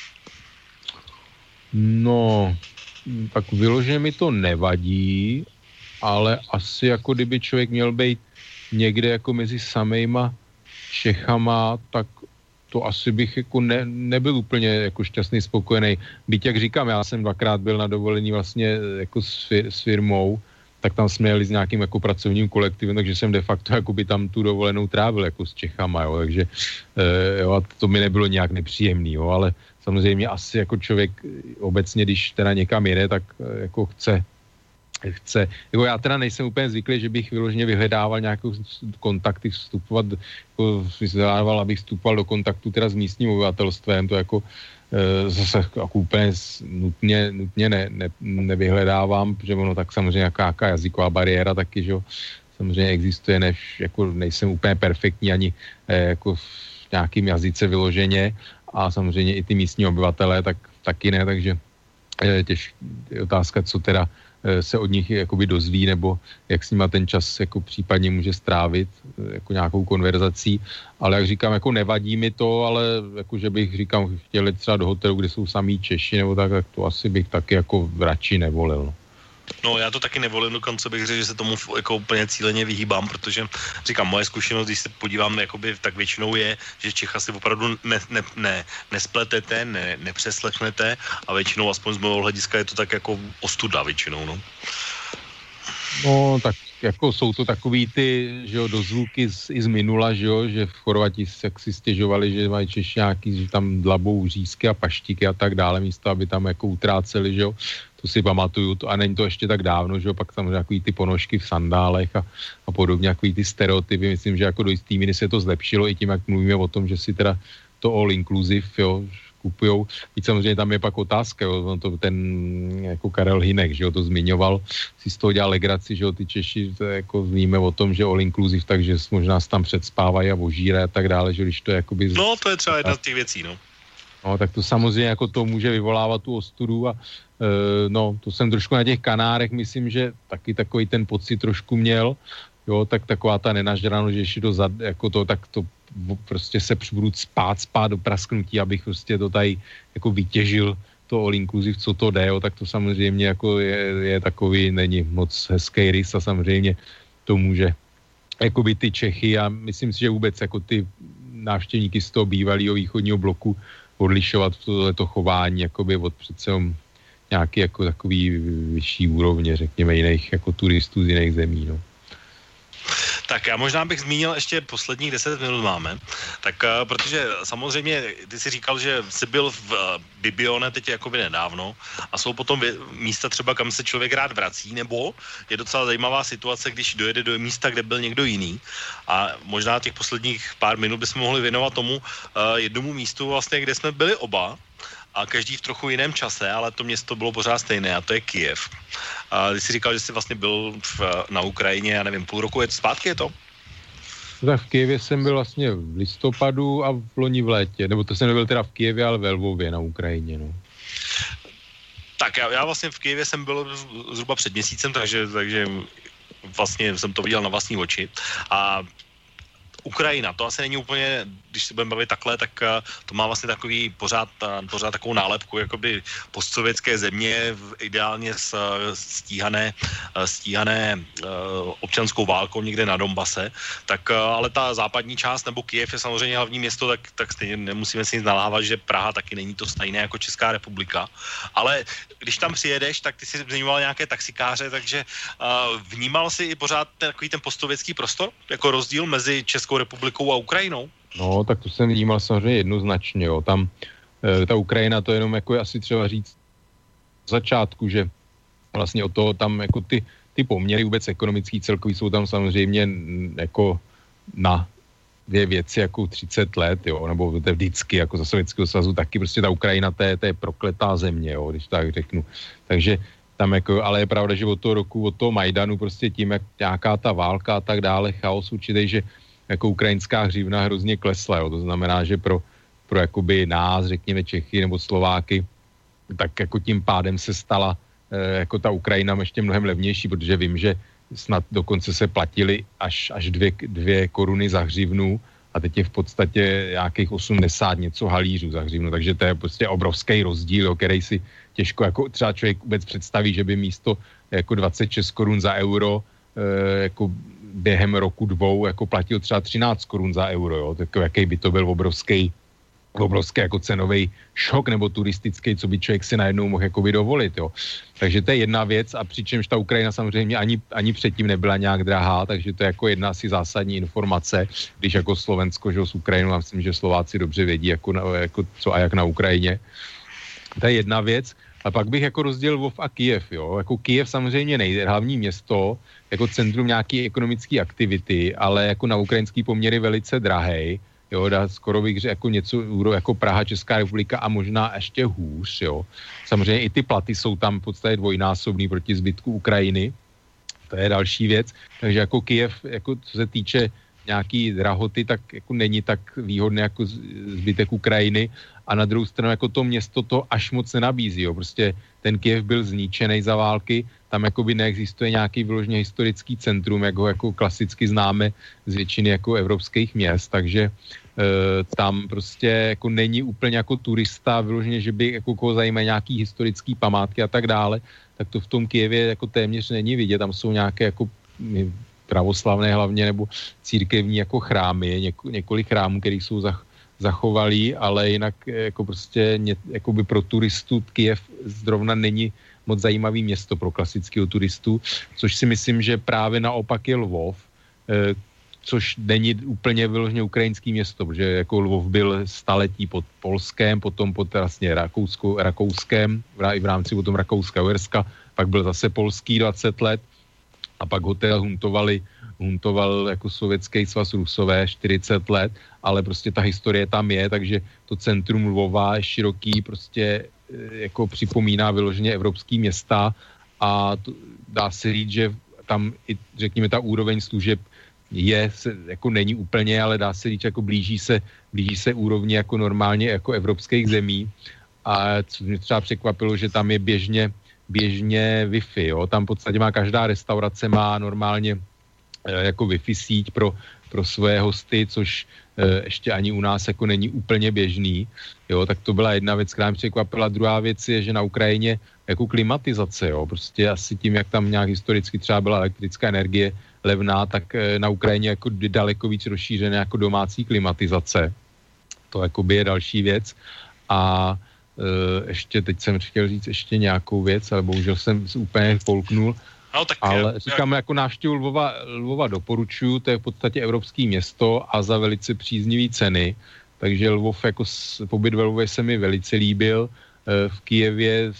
No, tak vyloženě mi to nevadí, ale asi jako kdyby člověk měl být někde jako mezi samejma Čechama, tak to asi bych jako ne, nebyl úplně jako šťastný, spokojený. Byť, jak říkám, já jsem dvakrát byl na dovolení vlastně jako s, fir, s firmou, tak tam jsme jeli s nějakým jako pracovním kolektivem, takže jsem de facto jako by tam tu dovolenou trávil jako s Čechama, jo, takže e, jo, a to mi nebylo nějak nepříjemný, jo, ale samozřejmě asi jako člověk obecně, když teda někam jede, tak e, jako chce chce. Jako já teda nejsem úplně zvyklý, že bych vyloženě vyhledával nějaké kontakty, vstupovat, jako vyhledával, abych vstupoval do kontaktu teda s místním obyvatelstvem, to jako e, zase jako úplně nutně, nutně ne, ne, nevyhledávám, protože ono tak samozřejmě jaká jazyková bariéra taky, že jo, samozřejmě existuje, než jako nejsem úplně perfektní ani e, jako v nějakým jazyce vyloženě a samozřejmě i ty místní obyvatelé, tak taky ne, takže e, těž otázka, co teda se od nich jakoby dozví, nebo jak s nima ten čas jako případně může strávit jako nějakou konverzací, ale jak říkám, jako nevadí mi to, ale jako, že bych říkám, chtěli třeba do hotelu, kde jsou samý Češi, nebo tak, tak to asi bych taky jako radši nevolil. No, já to taky nevolím, dokonce bych řekl, že se tomu jako úplně cíleně vyhýbám, protože říkám, moje zkušenost, když se podívám, jakoby, tak většinou je, že Čecha si opravdu ne, ne, ne, nespletete, ne, nepřeslechnete a většinou, aspoň z mého hlediska, je to tak jako ostuda většinou, no. No, tak jako jsou to takový ty, že jo, dozvuky z, i z minula, že jo, že v Chorvati jak si stěžovali, že mají Češi nějaký, že tam dlabou řízky a paštíky a tak dále, místo, aby tam jako utráceli, že jo. To si pamatuju, to, a není to ještě tak dávno, že jo, pak samozřejmě takový ty ponožky v sandálech a, a podobně, takový ty stereotypy, myslím, že jako do jistý míry se to zlepšilo i tím, jak mluvíme o tom, že si teda to all inclusive, jo, kupujou. Víc samozřejmě tam je pak otázka, jo, to ten jako Karel Hynek, že jo, to zmiňoval, si z toho dělal legraci, že jo, ty Češi, to jako víme o tom, že all inclusive, takže možná se tam předspávají a ožírají a tak dále, že když to je jakoby... No, to je třeba jedna z těch věcí, no. No, tak to samozřejmě jako to může vyvolávat tu ostudu a e, no, to jsem trošku na těch Kanárech, myslím, že taky takový ten pocit trošku měl, jo, tak taková ta nenažranost, že ještě to zad, jako to, tak to prostě se budu spát, spát do prasknutí, abych prostě to tady jako vytěžil to all inclusive, co to jde, jo, tak to samozřejmě jako je, je takový, není moc hezký rys a samozřejmě to může jakoby ty Čechy a myslím si, že vůbec jako ty návštěvníky z toho bývalého východního bloku odlišovat tohleto chování jakoby od přece nějaký jako takový vyšší úrovně, řekněme, jiných jako turistů z jiných zemí, no. Tak já možná bych zmínil ještě posledních deset minut máme, tak uh, protože samozřejmě ty jsi říkal, že jsi byl v uh, Bibione teď jakoby nedávno a jsou potom vě- místa třeba, kam se člověk rád vrací, nebo je docela zajímavá situace, když dojede do místa, kde byl někdo jiný a možná těch posledních pár minut bychom mohli věnovat tomu uh, jednomu místu vlastně, kde jsme byli oba, a každý v trochu jiném čase, ale to město bylo pořád stejné a to je Kyjev. A ty jsi říkal, že jsi vlastně byl v, na Ukrajině, já nevím, půl roku je to zpátky, je to? Tak v Kyjevě jsem byl vlastně v listopadu a v loni v létě, nebo to jsem nebyl teda v Kyjevě, ale ve Lvově na Ukrajině, no. Tak já, já vlastně v Kyjevě jsem byl zhruba před měsícem, takže, takže vlastně jsem to viděl na vlastní oči a Ukrajina, to asi není úplně, když se budeme bavit takhle, tak to má vlastně takový pořád, pořád takovou nálepku, jakoby postsovětské země, ideálně stíhané, stíhané občanskou válkou někde na Donbase, tak ale ta západní část, nebo Kyjev je samozřejmě hlavní město, tak, tak stejně nemusíme si nic nalávat, že Praha taky není to stejné jako Česká republika, ale když tam přijedeš, tak ty si zmiňoval nějaké taxikáře, takže vnímal si i pořád ten, takový ten postsovětský prostor, jako rozdíl mezi Českou republikou a Ukrajinou? No, tak to jsem vnímal samozřejmě jednoznačně, jo. Tam e, ta Ukrajina, to jenom jako je asi třeba říct v začátku, že vlastně o toho tam jako ty, ty poměry vůbec ekonomický celkový jsou tam samozřejmě jako na dvě věci jako třicet let, jo, nebo to je vždycky jako za Sovětského svazu taky prostě ta Ukrajina, to je, to je prokletá země, jo, když tak řeknu. Takže tam jako, ale je pravda, že od toho roku, od toho Majdanu prostě tím, jak nějaká ta válka a tak dále, chaos určitej, že jako ukrajinská hřivna hrozně klesla, jo. To znamená, že pro, pro jakoby nás, řekněme Čechy nebo Slováky, tak jako tím pádem se stala e, jako ta Ukrajina ještě mnohem levnější, protože vím, že snad dokonce se platili až, až dvě, dvě koruny za hřivnu a teď je v podstatě nějakých osmdesát něco halířů za hřivnu, takže to je prostě obrovský rozdíl, jo, který si těžko jako třeba člověk vůbec představí, že by místo jako dvacet šest korun za euro e, jako během roku dvou jako platil třeba třináct korun za euro, jo, tak jaký by to byl obrovský obrovský jako cenový šok nebo turistický, co by člověk si najednou mohl jakoby dovolit, jo. Takže to je jedna věc a přičemž ta Ukrajina samozřejmě ani, ani předtím nebyla nějak drahá, takže to je jako jedna asi zásadní informace, když jako Slovensko, že s Ukrajinou, já myslím, že Slováci dobře vědí, jako, na, jako co a jak na Ukrajině. To je jedna věc. A pak bych jako rozdělil Lvov a Kyjev, jo. Jako Kyjev samozřejmě nejde, hlavní město, jako centrum nějaké ekonomické aktivity, ale jako na ukrajinský poměry velice drahej. Jo, dá skoro bych řekl jako něco jako Praha, Česká republika a možná ještě hůř, jo. Samozřejmě i ty platy jsou tam v podstatě dvojnásobný proti zbytku Ukrajiny. To je další věc. Takže jako Kyjev, jako co se týče nějaký drahoty, tak jako není tak výhodné jako zbytek Ukrajiny. A na druhou stranu jako to město to až moc nenabízí, jo. Prostě ten Kyjev byl zničený za války, tam jakoby neexistuje nějaký vyloženě historický centrum, jak ho jako klasicky známe z většiny jako evropských měst, takže e, tam prostě jako není úplně jako turista vyloženě, že by jako koho zajímají nějaký historický památky a tak dále, tak to v tom Kyjevě jako téměř není vidět, tam jsou nějaké jako pravoslavné hlavně nebo církevní jako chrámy, něko, několik chrámů, které jsou za zachovalý, ale jinak jako prostě ně, jakoby pro turistu Kyjev zrovna není moc zajímavý město pro klasického turistu, což si myslím, že právě naopak je Lvov, eh, což není úplně vyloženě ukrajinský město, protože jako Lvov byl staletí pod Polskem, potom pod vlastně Rakouskou, Rakouskem, v rámci potom Rakouska-Uherska, pak byl zase polský dvacet let a pak ho teda huntovali huntoval jako sovětský svaz Rusové čtyřicet let, ale prostě ta historie tam je, takže to centrum Lvova je široký, prostě jako připomíná vyloženě evropský města a to, dá se říct, že tam i, řekněme, ta úroveň služeb je, se, jako není úplně, ale dá se říct, jako blíží se, blíží se úrovni jako normálně jako evropských zemí a co mě třeba překvapilo, že tam je běžně, běžně Wi-Fi, jo, tam v podstatě má každá restaurace má normálně jako Wi-Fi síť pro, pro své hosty, což e, ještě ani u nás jako není úplně běžný. Jo, tak to byla jedna věc, která mě překvapila. Druhá věc je, že na Ukrajině jako klimatizace, jo, prostě asi tím, jak tam nějak historicky třeba byla elektrická energie levná, tak e, na Ukrajině jako daleko víc rozšířené jako domácí klimatizace. To jakoby je další věc. A e, ještě, teď jsem chtěl říct ještě nějakou věc, ale bohužel jsem se úplně polknul. No, tak ale já, říkám, jako návštěvu Lvova, Lvova doporučuju, to je v podstatě evropský město a za velice příznivý ceny, takže Lvov jako pobyt ve Lvově se mi velice líbil, v Kyjevě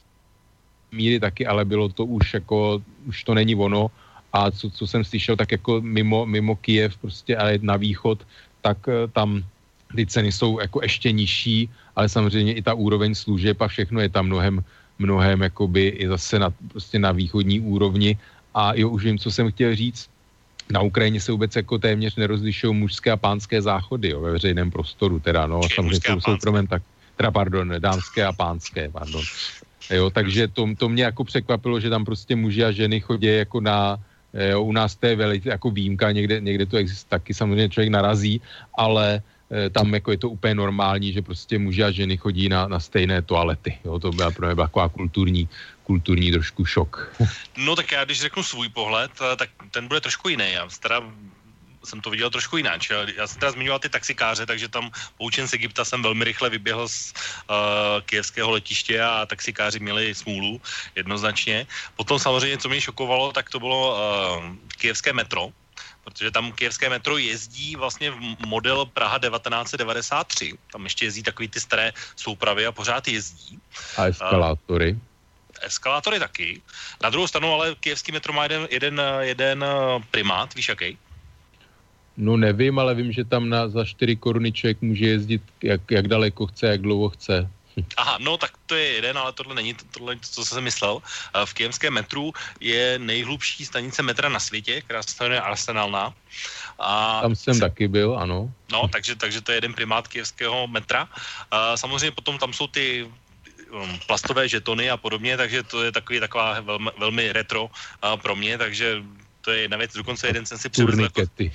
míry taky, ale bylo to už jako, už to není ono a co, co jsem slyšel, tak jako mimo, mimo Kyjev prostě, ale na východ, tak tam ty ceny jsou jako ještě nižší, ale samozřejmě i ta úroveň služeb a všechno je tam mnohem mnohem jakoby i zase na, prostě na východní úrovni a jo, už vím, co jsem chtěl říct, na Ukrajině se vůbec jako téměř nerozlišují mužské a pánské záchody, jo, ve veřejném prostoru teda, no, samozřejmě jsou soukromém, tak, teda pardon, dámské a pánské, pardon. Jo, takže to, to mě jako překvapilo, že tam prostě muži a ženy chodí jako na, jo, u nás to je velice jako výjimka, někde, někde to existuje, taky samozřejmě člověk narazí, ale tam jako je to úplně normální, že prostě muži a ženy chodí na, na stejné toalety. Jo, to byla pro mě taková kulturní, kulturní trošku šok. No tak já, když řeknu svůj pohled, tak ten bude trošku jiný. Já teda jsem to viděl trošku jinak. Já jsem teda zmiňoval ty taxikáře, takže tam poučen z Egypta jsem velmi rychle vyběhl z uh, kyjevského letiště a taxikáři měli smůlu jednoznačně. Potom samozřejmě, co mě šokovalo, tak to bylo uh, kyjevské metro, protože tam kyjevské metro jezdí vlastně v model Praha devatenáct devadesát tři. Tam ještě jezdí takový ty staré soupravy a pořád jezdí. A eskalátory. Uh, eskalátory taky. Na druhou stranu ale kyjevský metro má jeden, jeden, jeden primát, víš jaký? No nevím, ale vím, že tam na, za čtyři koruny člověk může jezdit jak, jak daleko chce, jak dlouho chce. Aha, no tak to je jeden, ale tohle není to, tohle, co jsem myslel. V kyjevském metru je nejhlubší stanice metra na světě, která se jmenuje Arsenalna. A tam jsem se... taky byl, ano. No, takže, takže to je jeden primát kyjevského metra. A samozřejmě potom tam jsou ty um, plastové žetony a podobně, takže to je takový, taková velmi, velmi retro uh, pro mě, takže to je jedna věc. Dokonce jeden jsem si přivezl jako...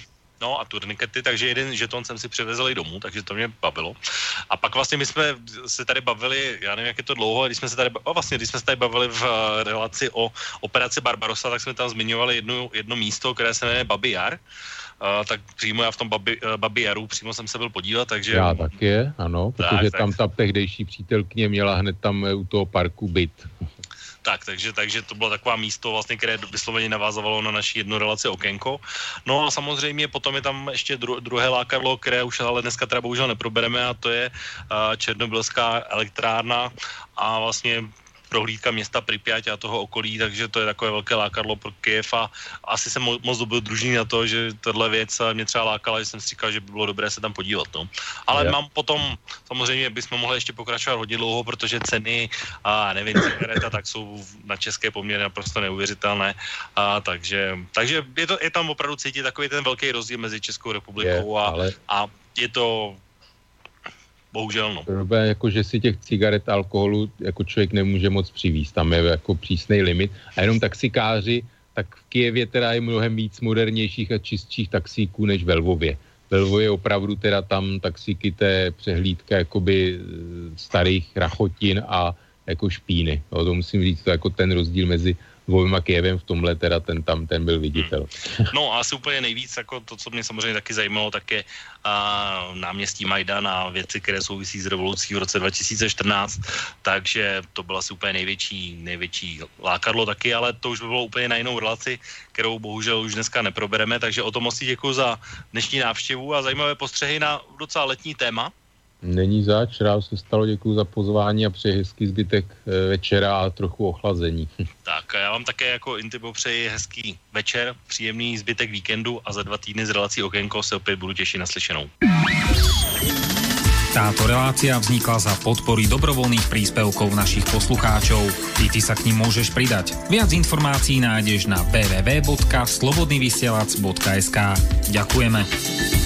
no a turnikety, takže jeden žeton jsem si přivezl i domů, takže to mě bavilo. A pak vlastně my jsme se tady bavili, já nevím, jak je to dlouho, když jsme se tady, o, vlastně, když jsme se tady bavili v relaci o operaci Barbarossa, tak jsme tam zmiňovali jedno, jedno místo, které se jmenuje Babi Jar. Uh, tak přímo já v tom Babi, uh, Babi Jaru přímo jsem se byl podívat, takže... Já taky je, ano, protože tak, tam tak. ta tehdejší přítelkyně měla hned tam u toho parku byt. Tak, takže, takže to bylo taková místo, vlastně, které vysloveně navázovalo na naši jednu relaci Okénko. No a samozřejmě potom je tam ještě dru, druhé lákadlo, které už ale dneska teda bohužel neprobereme, a to je uh, černobylská elektrárna a vlastně prohlídka města Pripyat a toho okolí, takže to je takové velké lákadlo pro Kyjev a asi jsem mo- moc dobil družný na to, že tahle věc mě třeba lákala, že jsem si říkal, že by bylo dobré se tam podívat. No. Ale je. mám potom, samozřejmě bychom mohli ještě pokračovat hodně dlouho, protože ceny a nevím, cigareta, tak jsou na české poměry naprosto neuvěřitelné. A takže takže je, to, je tam opravdu cítit takový ten velký rozdíl mezi Českou republikou je, a, ale... a je to bohužel, no. Problém, jako, že si těch cigaret a alkoholu jako člověk nemůže moc přivízt. Tam je jako přísnej limit. A jenom taxikáři, tak v Kyjevě teda je mnohem víc modernějších a čistších taxíků než ve Lvově. Ve Lvově opravdu teda tam taxíky, té přehlídka jakoby starých rachotin a jako špíny. No, to musím říct, to jako ten rozdíl mezi Lvovem a Kyjevem v tomhle teda ten tam ten byl viditel. Hmm. No a asi úplně nejvíc, jako to, co mě samozřejmě taky zajímalo, tak je a, náměstí Majdan a věci, které souvisí s revolucí v roce dva tisíce čtrnáct, takže to bylo asi úplně největší, největší lákadlo taky, ale to už by bylo úplně na jinou relaci, kterou bohužel už dneska neprobereme, takže o tom moc děkuji za dnešní návštěvu a zajímavé postřehy na docela letní téma. Není zač, rád se stalo, děkuji za pozvání a přeji hezký zbytek večera a trochu ochlazení. Tak a já vám také jako Intibo přeji hezký večer, příjemný zbytek víkendu a za dva týdny z relací Okénko se opět budu těšit na slyšenou. Táto relácia vznikla za podpory dobrovoľných príspevkov našich poslucháčov. I ty sa k nim môžeš pridať. Viac informácií nájdeš na w w w bodka slobodnyvysielac bodka es ka. Ďakujeme.